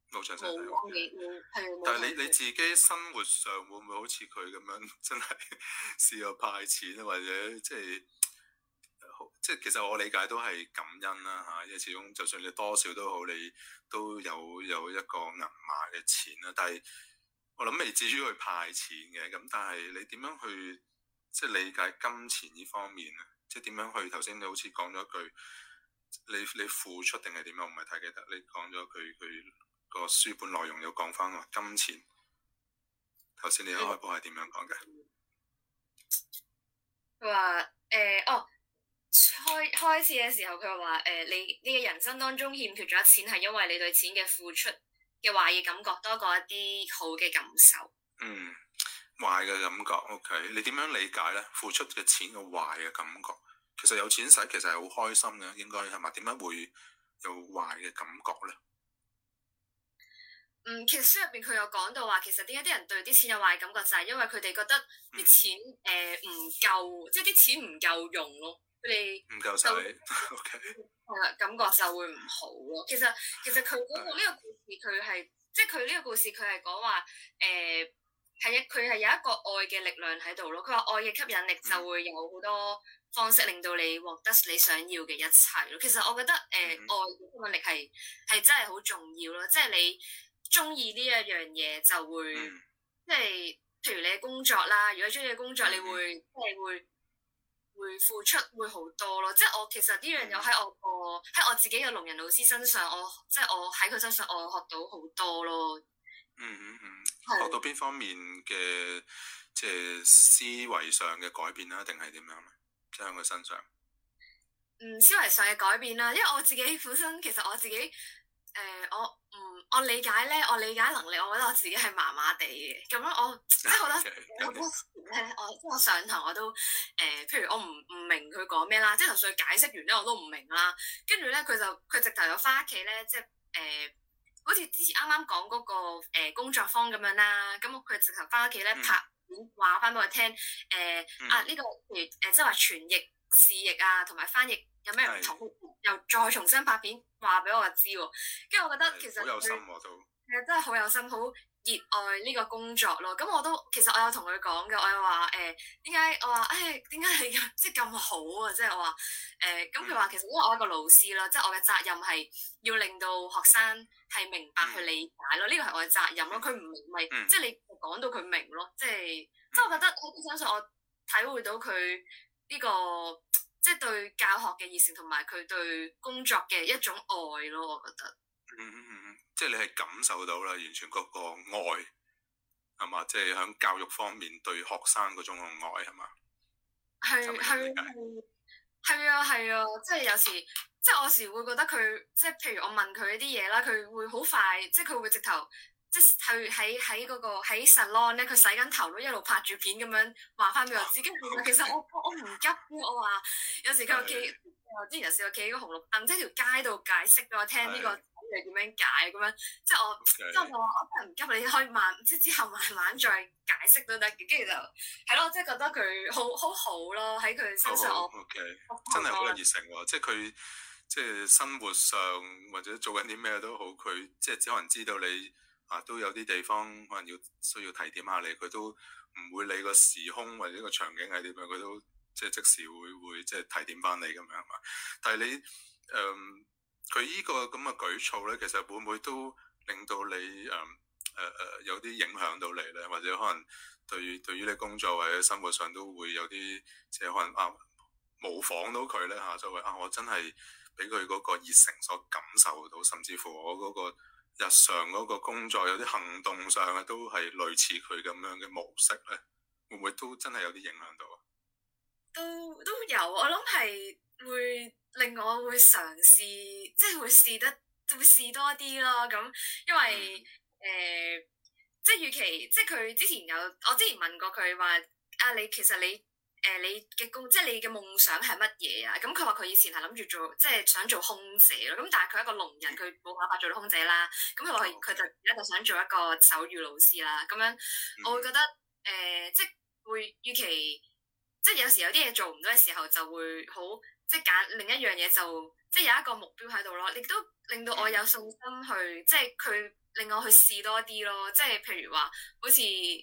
冇詳細睇。 冇冇係。 但係你你自己生活上會唔會好似佢咁樣，真係試過派錢啊，或者即係即係其實我理解都係感恩啦嚇，因為始終就算你多少都好，你都有有一個銀碼嘅錢啦。但係我諗未至於去派錢嘅，咁但係你點樣去即係理解金錢呢方面咧？即係點樣去頭先你好似講咗句，你你付出定係點樣？我唔係太記得，你講咗佢佢個書本內容有講翻話金錢。頭先你一開波係點樣講嘅？ 佢話誒哦。開開始嘅時候，佢話誒，你你嘅人生當中欠缺咗錢，係因為你對錢嘅付出嘅壞嘅感覺多過一啲好嘅感受。嗯， 壞嘅感覺 ，OK，你點樣理解咧？付出嘅錢嘅壞嘅感覺，其實有錢使其實係好開心嘅，應該係咪？點解會有壞嘅感覺咧？ 嗯，其實書入邊佢有講到話，其實點解啲人對啲錢有壞感覺，就係因為佢哋覺得啲錢誒唔夠，即係啲錢唔夠用咯。佢哋唔夠使，OK， 係啦，感覺就會唔好咯。其實其實佢嗰個呢個故事，佢係即係佢呢個故事，佢係講話誒係一佢係有一個愛嘅力量喺度咯。佢話愛嘅吸引力就會有好多方式令到你獲得你想要嘅一切咯。其實我覺得誒、呃嗯、愛嘅吸引力係係真係好重要咯。即係你中意呢一樣嘢就會，嗯、即係譬如你嘅工作啦，如果中意嘅工作，你會、嗯、即係會。會付出會好多咯，即係我其實呢樣嘢喺我個喺我自己嘅聾人老師身上，我即係我喺佢身上我學到好多咯。 嗯嗯嗯，是學到邊方面嘅即係思維上嘅改變啦，定係點樣咧？即係喺佢身上。 嗯，思維上嘅改變啦，因為我自己本身其實我自己誒、呃、我。嗯，我理解咧，我理解能力，我覺得我自己係麻麻地嘅。咁樣我即係好多好多時咧，我即係我上堂我都誒、呃，譬如我唔唔明佢講咩啦，即係就算佢解釋完咧，我都唔明啦。跟住咧，佢就佢直頭有翻屋企咧，即係誒、呃，好似之前啱啱講嗰個、呃、工作坊咁樣啦。咁佢直頭翻屋企咧拍片話翻俾我聽，誒、呃嗯、啊呢、這個譬如誒即係話傳譯視譯啊，同埋翻譯有咩唔同？又再重新拍片話俾我知喎，跟住我覺得其實好有心喎都， 係啊，真係好有心，好熱愛呢個工作咯。咁我都其實我有同佢講嘅，我有話誒點解我話誒點解你咁即係咁好啊？即係我話誒咁佢話其實因為我係一個老師啦，即係我嘅責任係要令到學生係明白去理解咯，呢個係我嘅責任咯。佢唔明咪即係你講到佢明咯，即係即係我覺得喺佢身上我體會到佢呢個。即係對教學嘅熱誠同埋佢對工作嘅一種愛咯，我覺得。 嗯嗯嗯，即係你係感受到啦，完全嗰個愛係嘛？即係喺教育方面對學生嗰種嘅愛係嘛？ 係係係啊係啊！即係有時，即係我有時會覺得佢，即係譬如我問佢一啲嘢啦，佢會好快，即係佢會直頭。即係喺喺嗰個喺 salon 咧，佢洗緊頭都一路拍住片咁樣話翻俾我知。跟住其實我我唔急，我話有時佢企，我之前有試過企喺個紅綠燈，即係條街度解釋俾我聽呢個係點樣解咁樣。即係我即係我話我真係唔急，你可以慢，即係之後慢慢再解釋都得。跟住就係咯，即係覺得佢好好好咯，喺佢身上我 OK 真係好有熱誠喎。即係佢即係生活上或者做緊啲咩都好，佢即係只可能知道你。啊，都有啲地方可能要需要提點下你，佢都唔會理個時空或者個場景係點樣，佢都即係即時會會即係提點翻你咁樣嘛。但係你誒佢依個咁嘅舉措咧，其實會唔會都令到你誒誒誒有啲影響到你咧？或者可能對對於你工作或者生活上都會有啲即係可能啊模仿到佢咧嚇，就會啊我真係俾佢嗰個熱誠所感受到，甚至乎我嗰個日常嗰個工作有啲行動上啊，都係類似佢咁樣嘅模式咧，會唔會都真係有啲影響到啊？ 都都有，我諗係會令我會嘗試，即係會試得會試多啲咯。咁因為誒、嗯呃，即係與其即係佢之前有我之前問過佢話啊，你其實你。誒、呃，你嘅工即係你嘅夢想係乜嘢啊？咁佢話佢以前係諗住做，即係想做空姐咯。咁但係佢係一個聾人，佢冇辦法做到空姐啦。咁佢話佢佢就而家就想做一個手語老師啦。咁樣我會覺得誒、呃，即係會與其即係有時有啲嘢做唔到嘅時候，就會好即係揀另一樣嘢，就即係有一個目標喺度咯。亦都令到我有信心去，即係佢令我去試多啲咯。即係譬如話，好似誒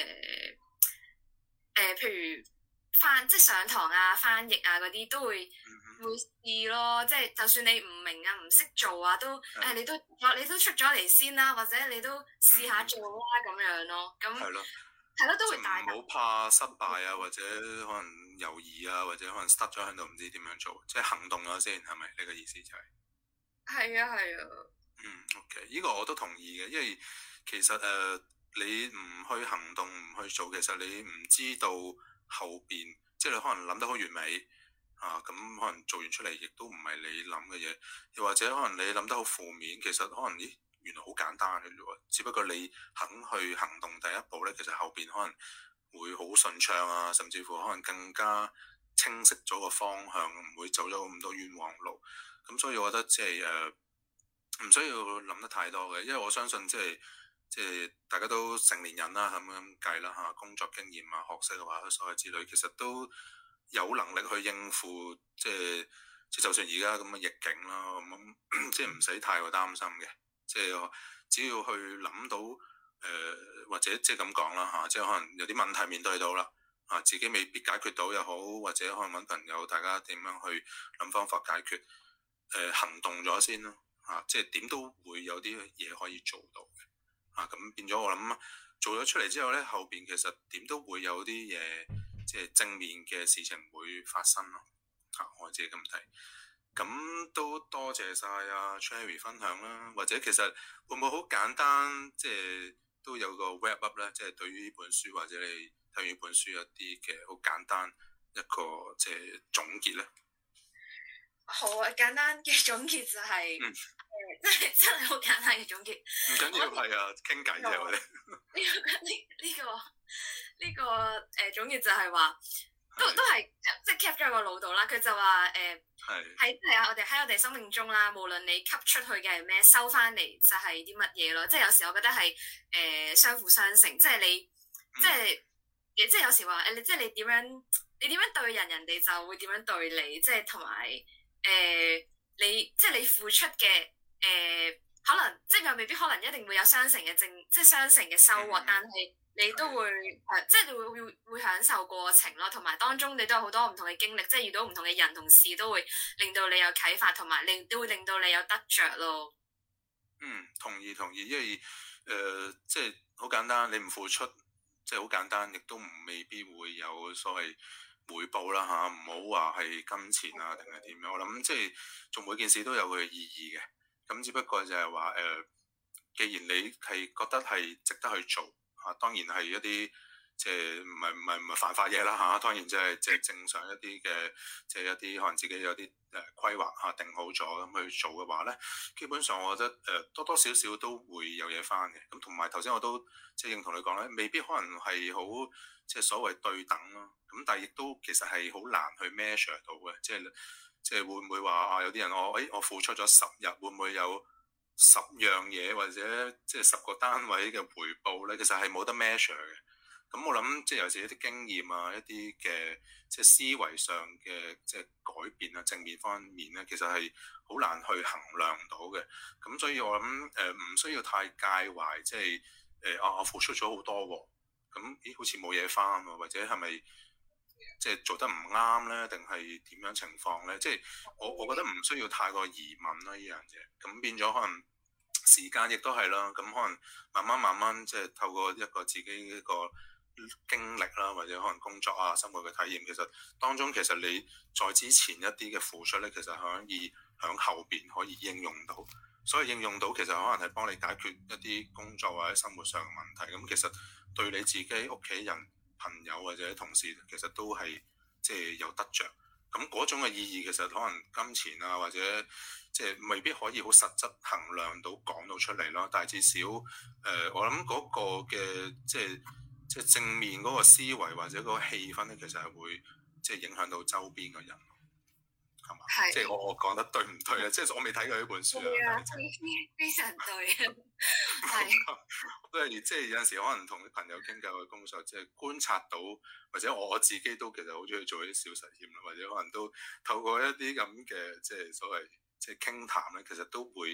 誒，譬如翻即係上堂啊、翻譯啊嗰啲都會、嗯、會試咯。即係就算你唔明啊、唔識做啊，都誒的、哎、你都你都出咗嚟先啦，或者你都試下做啦咁、嗯、樣咯。咁係咯，係咯，都會大。 唔好怕失敗啊，或者可能猶豫啊，或者可能 stuck 咗喺度唔知點樣做，即係行動咗先，係咪？你嘅意思就係、是？係啊，係啊。 嗯，OK，呢個我都同意嘅，因為其實誒、呃、你唔去行動唔去做，其實你唔知道後邊，即係你可能諗得好完美啊，咁可能做完出嚟亦都唔係你諗嘅嘢，又或者可能你諗得好負面，其實可能咦原來好簡單嘅啫喎，只不過你肯去行動第一步咧，其實後邊可能會好順暢啊，甚至乎可能更加清晰咗個方向，唔會走咗咁多冤枉路。咁所以我覺得即係誒。呃唔需要諗得太多嘅，因為我相信即係即係大家都成年人啦，咁樣計啦嚇，工作經驗啊、學識嘅話，所有之類，其實都有能力去應付，即係即係就算而家咁嘅逆境啦，咁即係唔使太過擔心嘅，即係只要去諗到誒、呃，或者即係咁講啦嚇，即係可能有啲問題面對到啦，啊自己未必解決到又好，或者可能揾朋友大家點樣去諗方法解決，誒、呃、行動咗先咯。啊，即係點都會有啲嘢可以做到嘅，啊咁變咗我諗做咗出嚟之後咧，後邊其實點都會有啲嘢，即係正面嘅事情會發生咯。啊，我自己咁睇，咁都多謝晒阿 Cherry 分享啦。或者其實會唔會好簡單，即係都有個 wrap up 咧，即係對於呢本書或者你睇完呢本書有啲嘅好簡單一個即係總結咧。 好啊，簡單嘅總結就係、是，誒、嗯呃，真係真係好簡單嘅總結。唔緊要，係啊，傾偈啫，我哋。呢個呢呢個呢個誒總結就係話，都都係即係 cap 咗喺個腦度啦。佢就話誒，喺係啊，我哋喺我哋生命中啦，無論你吸出去嘅係咩，收翻嚟就係啲乜嘢咯。即係有時我覺得係誒、呃、相輔相成，即係你、嗯、即係即係有時話誒，你即係你點樣你點樣對人，人哋就會點樣對你，即係同埋。誒、呃，你即係你付出嘅誒、呃，可能即係又未必可能一定會有雙成嘅正，即係雙成嘅收穫，嗯、但係你都會誒、呃，即係你會會會享受過程咯，同埋當中你都有好多唔同嘅經歷，即係遇到唔同嘅人同事，都會令到你有啟發，同埋令都會令到你有得着咯。嗯，同意同意，因為誒、呃，即係好簡單，你唔付出，即係好簡單，亦都唔未必會有所謂回報啦嚇，唔好話係金錢啊定係點樣，我諗即係做每件事都有佢嘅意義嘅。咁只不過就係話誒，既然你係覺得係值得去做嚇、啊，當然係一啲即係唔係唔係唔係犯法嘢啦嚇。當然即係即係正常一啲嘅，即係一啲可能自己有啲誒規劃嚇定好咗咁去做嘅話咧，基本上我覺得誒、呃、多多少少都會有嘢翻嘅。咁同埋頭先我都即係認同你講咧，未必可能係好即係所謂對等咯。咁但係亦都其實係好難去 measure 到嘅，即係即係會唔會話啊有啲人我誒、哎、我付出咗十日，會唔會有十樣嘢或者即係十個單位嘅回報咧？其實係冇得 measure 嘅。咁我諗即係有時一啲經驗啊，一啲嘅即係思維上嘅即係改變啊，正面方面咧，其實係好難去衡量到嘅。咁所以我諗誒唔需要太介懷，即係誒啊我付出咗好多喎，咁咦好似冇嘢翻喎，或者係咪？即係做得唔啱咧，定係點樣情況咧？即係我我覺得唔需要太過疑問啦，呢樣嘢。咁變咗可能時間亦都係啦。咁可能慢慢慢慢即係透過一個自己一個經歷啦，或者可能工作啊、生活嘅體驗，其實當中其實你在之前一啲嘅付出咧，其實可以響後邊可以應用到。所以應用到其實可能係幫你解決一啲工作或者生活上嘅問題。咁其實對你自己屋企人、朋友或者同事其實都係即係有得着，咁嗰種嘅意義其實可能金錢啊或者即係未必可以好實質衡量到講到出嚟咯，但係至少誒、呃、我諗嗰個嘅即係即係正面嗰個思維或者嗰個氣氛咧，其實係會即係影響到周邊嘅人。係嘛？是即係我我講得對唔對咧？即係我未睇過呢本書啊，非常對啊，係都係即係有陣時可能同啲朋友傾偈嘅工作，即係觀察到或者我自己都其實好中意做一啲小實驗啦，或者可能都透過一啲咁嘅即係所謂即係傾談咧，其實都會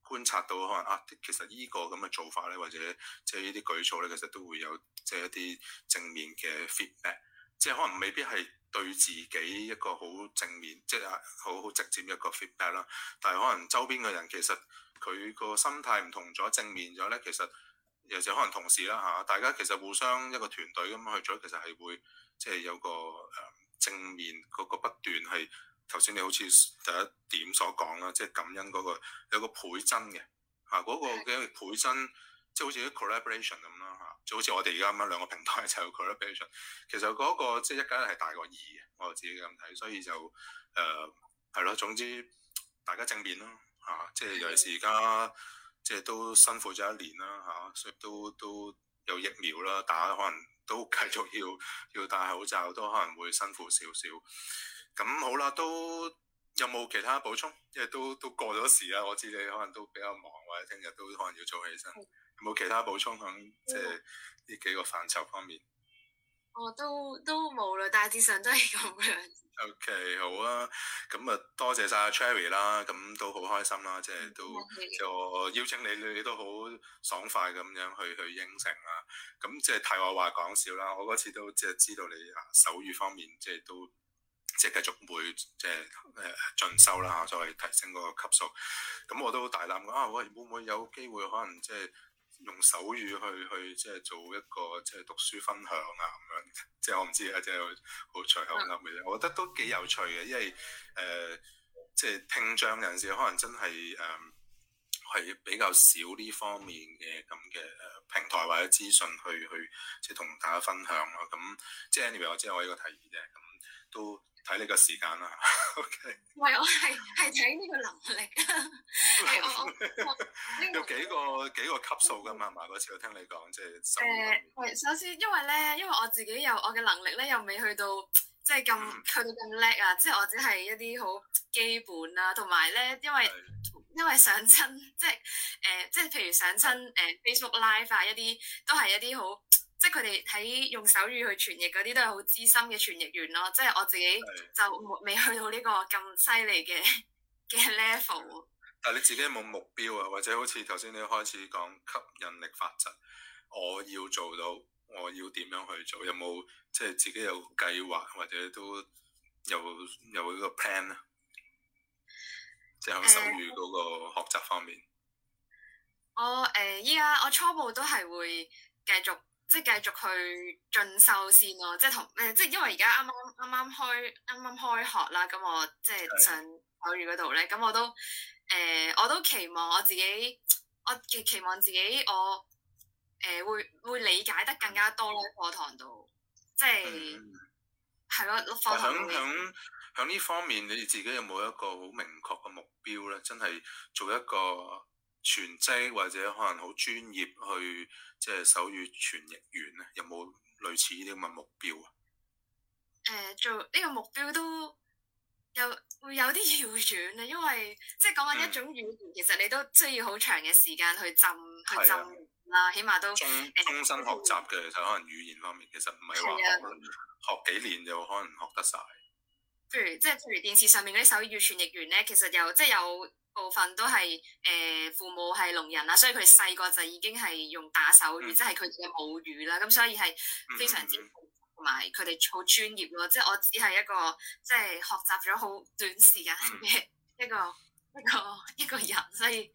觀察到可能啊，其實呢個咁嘅做法咧，或者即係呢啲舉措咧，其實都會有即係一啲正面嘅 feedback，即係可能未必係對自己一個好正面，即係好好直接一個 feedback 啦。但係可能周邊嘅人其實佢個心態唔同咗，正面咗咧，其實有時可能同事啦嚇，大家其實互相一個團隊咁去做，其實係會即係有個誒正面嗰個不斷係。頭先你好似第一點所講啦，即係感恩嗰個有個倍增嘅嚇，嗰個嘅倍增，即係好似啲 collaboration 咁啦嚇，就好似我哋而家咁樣兩個平台就有 collaboration，其實嗰個即係一加一係大過二嘅，我自己咁睇，所以就誒係咯，總之大家正面咯嚇，即係尤其是而家即係都辛苦咗一年啦嚇，所以都都有疫苗啦打，可能都繼續要要戴口罩，都可能會辛苦少少。咁好啦，都有冇其他補充？因為都都過咗時啦，我知你可能都比較忙，或者聽日都可能要早起身。有冇其他補充響即係呢幾個範疇方面？ 我都都冇啦，大致上都係咁樣。 OK， 好啊，咁啊多謝晒阿 Cherry 啦，咁都好開心啦，即係都即係我邀請你，你都好爽快咁樣去去應承啦。咁即係題外話講笑啦，我嗰次都即係知道你啊手語方面即係都。即係繼續會即係誒進修啦嚇，再提升嗰個級數。咁我都大膽講啊，喂，會唔會有機會可能即係用手語去去即係做一個即係讀書分享啊咁樣？即係我唔知啊，即係好隨口噏嘅啫。我覺得都幾有趣嘅，因為誒、呃、即係聽障人士可能真係誒係比較少呢方面嘅咁嘅誒平台或者資訊去去即係同大家分享咯。咁即係 anyway，我知我呢個提議啫，咁都。睇你個時間啦 ，OK。唔係， 我係係睇呢個能力啊。 有幾個幾個級數㗎嘛？係嘛？嗰次我聽你講，即係手語。 誒，係首先，因為咧，因為我自己有我嘅能力咧，又未去到即係咁去到咁叻啊！即係我只係一啲好基本啦，同埋咧，因為的因為上親即係誒，即係譬如上親誒 Facebook Live 啊，一啲都係一啲好。即係佢哋喺用手語去傳譯嗰啲都係好資深嘅傳譯員咯，即係我自己就未去到呢個咁犀利嘅嘅 level。 但係你自己有冇目標啊？或者好似頭先你開始講吸引力法則，我要做到，我要點樣去做？有冇即係自己有計劃，或者都有有呢個 plan 啊？即係喺手語嗰個學習方面。 呃、我誒依家我初步都係會繼續。即係繼續去進修先咯，即係同誒，即係因為而家啱啱啱啱開啱啱開學啦，咁我即係上手語嗰度咧，咁我都誒、呃，我都期望我自己，我期期望自己我誒、呃、會會理解得更加多咯，課堂度，即係係咯，課堂度。響響響呢方面，你自己有冇一個好明確嘅目標咧？真係做一個全職或者可能好專業去即係手語傳譯員咧，有冇類似呢啲咁嘅目標啊？ 誒、呃，做呢個目標都有會有啲遙遠啊，因為即係講緊一種語言，嗯、其實你都需要好長嘅時間去浸、嗯、去浸啦，起碼都終終身學習嘅，其實可能語言方面其實唔係話學學幾年就可能學得晒。 譬如即係譬如電視上面嗰啲手語傳譯員咧，其實有即係有。部分都係誒、呃、父母係聾人啦，所以佢哋細個就已經係用打手語，嗯、即係佢哋嘅母語啦。咁所以係非常之同埋佢哋好專業咯。即係我只係一個即係學習咗好短時間嘅一個、嗯、一個一個人，所以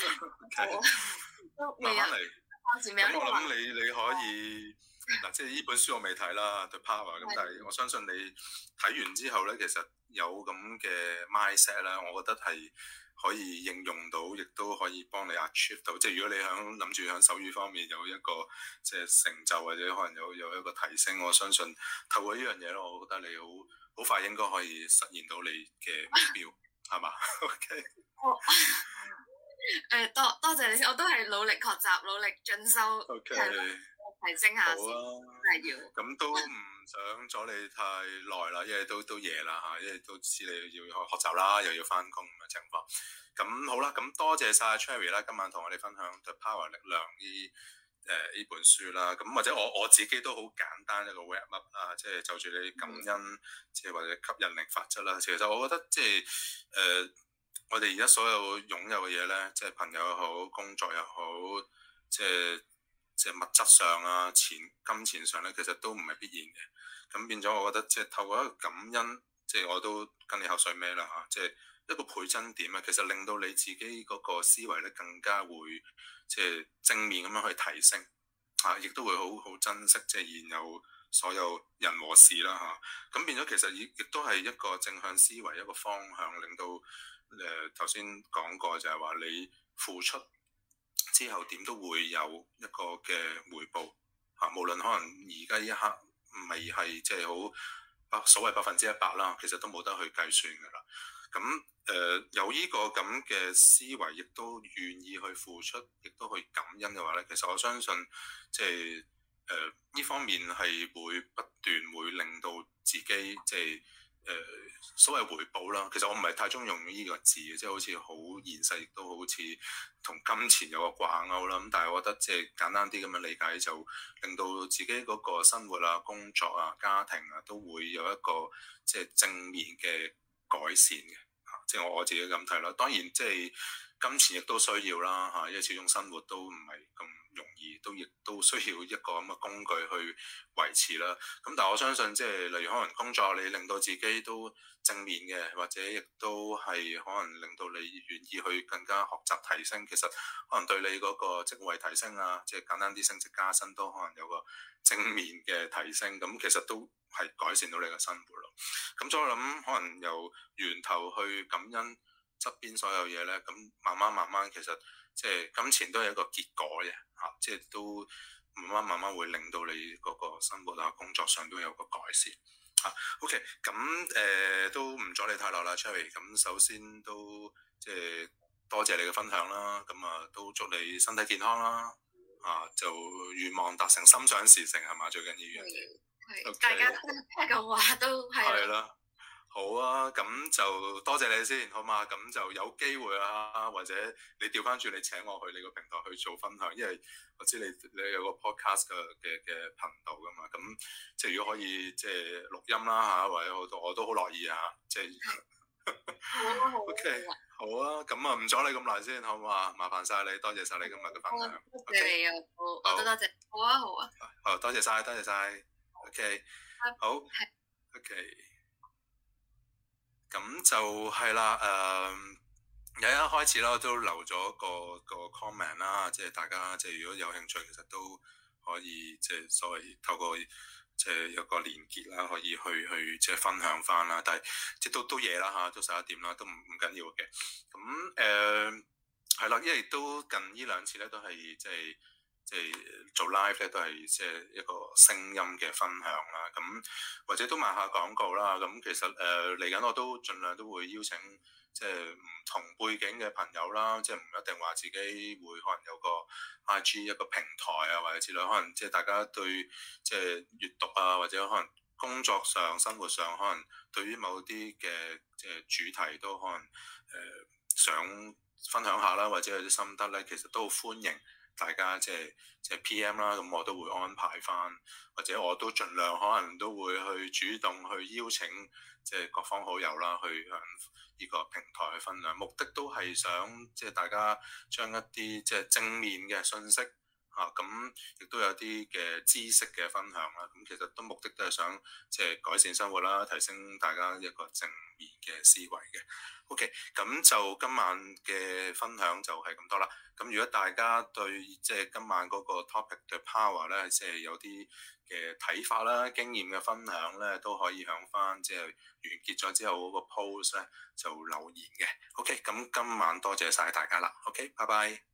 都未有。 咁我諗你你可以嗱，即係呢本書我未睇啦，The Power。咁但係我相信你睇完之後咧，其實有咁嘅 mindset 咧，我覺得係。可以應用到，亦都可以幫你 achieve 到。即係如果你響諗住響手語方面有一個即係成就，或者可能有有一個提升，我相信透過呢樣嘢咯，我覺得你好好快應該可以實現到你嘅目標，係嘛？OK。 誒，多多謝你先，我都係努力學習，努力進修 ，OK， 提升下先，係要。 咁都唔想阻你太耐啦，因為都都夜啦嚇，因為都知你要學習啦，又要翻工咁嘅情況。咁好啦，咁多謝晒 Cherry 啦，今晚同我哋分享 The Power 力量呢誒呢本書啦。咁或者我我自己都好簡單一個 wrap up 啊，即係就住你感恩，即係或者吸引力法則啦。其實我覺得即係誒我哋而家所有擁有嘅嘢咧，即係朋友又好，工作又好，即係即係物質上啊、錢金錢上咧，其實都唔係必然嘅。咁變咗，我覺得即係透過一個感恩，即係我都跟你口水尾啦嚇，即係一個倍增點啊，其實令到你自己嗰個思維咧更加會即係正面咁樣去提升嚇，亦都會好好珍惜即係現有所有人和事啦嚇。咁變咗其實亦亦都係一個正向思維一個方向，令到誒頭先講過就係話你付出之後點都會有一個嘅回報嚇，無論可能而家一刻未係即係好百所謂百分之一百啦，其實都冇得去計算㗎啦。咁誒、呃、有呢個咁嘅思維，亦都願意去付出，亦都去感恩嘅話咧，其實我相信即係誒呢方面係會不斷會令到自己即係誒所謂回報啦。其實我唔係太中意用呢個字嘅，即係好似好現實，亦都好似同金錢有個掛鈎啦。咁但係我覺得即係簡單啲咁樣理解，就令到自己嗰個生活啊、工作啊、家庭啊，都會有一個即係正面嘅改善嘅。嚇，即係我我自己咁睇啦。當然即係金錢亦都需要啦嚇，因為始終生活都唔係咁容易，都亦都需要一個咁嘅工具去維持啦。咁但係我相信即係例如可能工作你令到自己都正面嘅，或者亦都係可能令到你願意去更加學習提升，其實可能對你嗰個職位提升啊，即係簡單啲升職加薪都可能有個正面嘅提升，咁其實都係改善到你嘅生活咯。咁所以我諗可能由源頭去感恩側邊所有嘢咧，咁慢慢慢慢其實即係金錢都係一個結果嘅嚇，即係都慢慢慢慢會令到你嗰個生活啊、工作上都有個改善嚇。OK，咁誒、呃、都唔阻你太耐啦 Cherry。咁首先都即係多謝你嘅分享啦，咁啊都祝你身體健康啦，啊就願望達成，心想事成係嘛，最緊要樣嘢。 係，大家聽咁話都係。係啦。好啊，咁就多謝你先，好嘛？咁就有機會啊，或者你調翻轉，你請我去你個平台去做分享，因為我知你你有個 podcast 嘅嘅嘅頻道噶嘛，咁即係如果可以即係錄音啦嚇，或者好多我都好樂意啊，即係。 好啊好。 OK，好啊，咁啊唔阻你咁耐先，好唔好啊？麻煩晒你，多謝晒你今日嘅分享。 多謝你啊，好，我都多謝。好啊好啊。 好，多謝晒，多謝晒。OK，好。OK。咁就係啦，誒、呃，由一開始啦，都留咗個個 comment 啦，即係大家即係如果有興趣，其實都可以即係所謂透過即係有個連結啦，可以去去即係分享翻啦。但係即係都都夜啦嚇，都十一點啦，都唔唔緊要嘅。咁誒係啦，因為都近呢兩次咧，都係即係。即係做 live 咧，都係即係一個聲音嘅分享啦。咁或者都賣下廣告啦。咁其實誒嚟緊我都盡量都會邀請即係唔同背景嘅朋友啦。即係唔一定話自己會可能有個 I G 一個平台啊，或者之類。可能即係大家對即係閱讀啊，或者可能工作上、生活上，可能對於某啲嘅即係主題都可能誒、呃、想分享下啦，或者有啲心得咧，其實都好歡迎。大家即係即係 P M 啦，咁我都會安排翻，或者我都盡量可能都會去主動去邀請即係各方好友啦，去向呢個平台去分享。目的都係想即係大家將一啲即係正面嘅信息嚇，咁亦都有啲嘅知識嘅分享啦。咁其實都目的都係想即係改善生活啦，提升大家一個正面嘅思維嘅。OK，咁就今晚嘅分享就係咁多啦。咁如果大家對即係今晚嗰個 topic 嘅 power 咧，即係有啲嘅睇法啦、經驗嘅分享咧，都可以響翻即係完結咗之後嗰個 post 咧就留言嘅。OK，咁今晚多謝晒大家啦。OK，拜拜。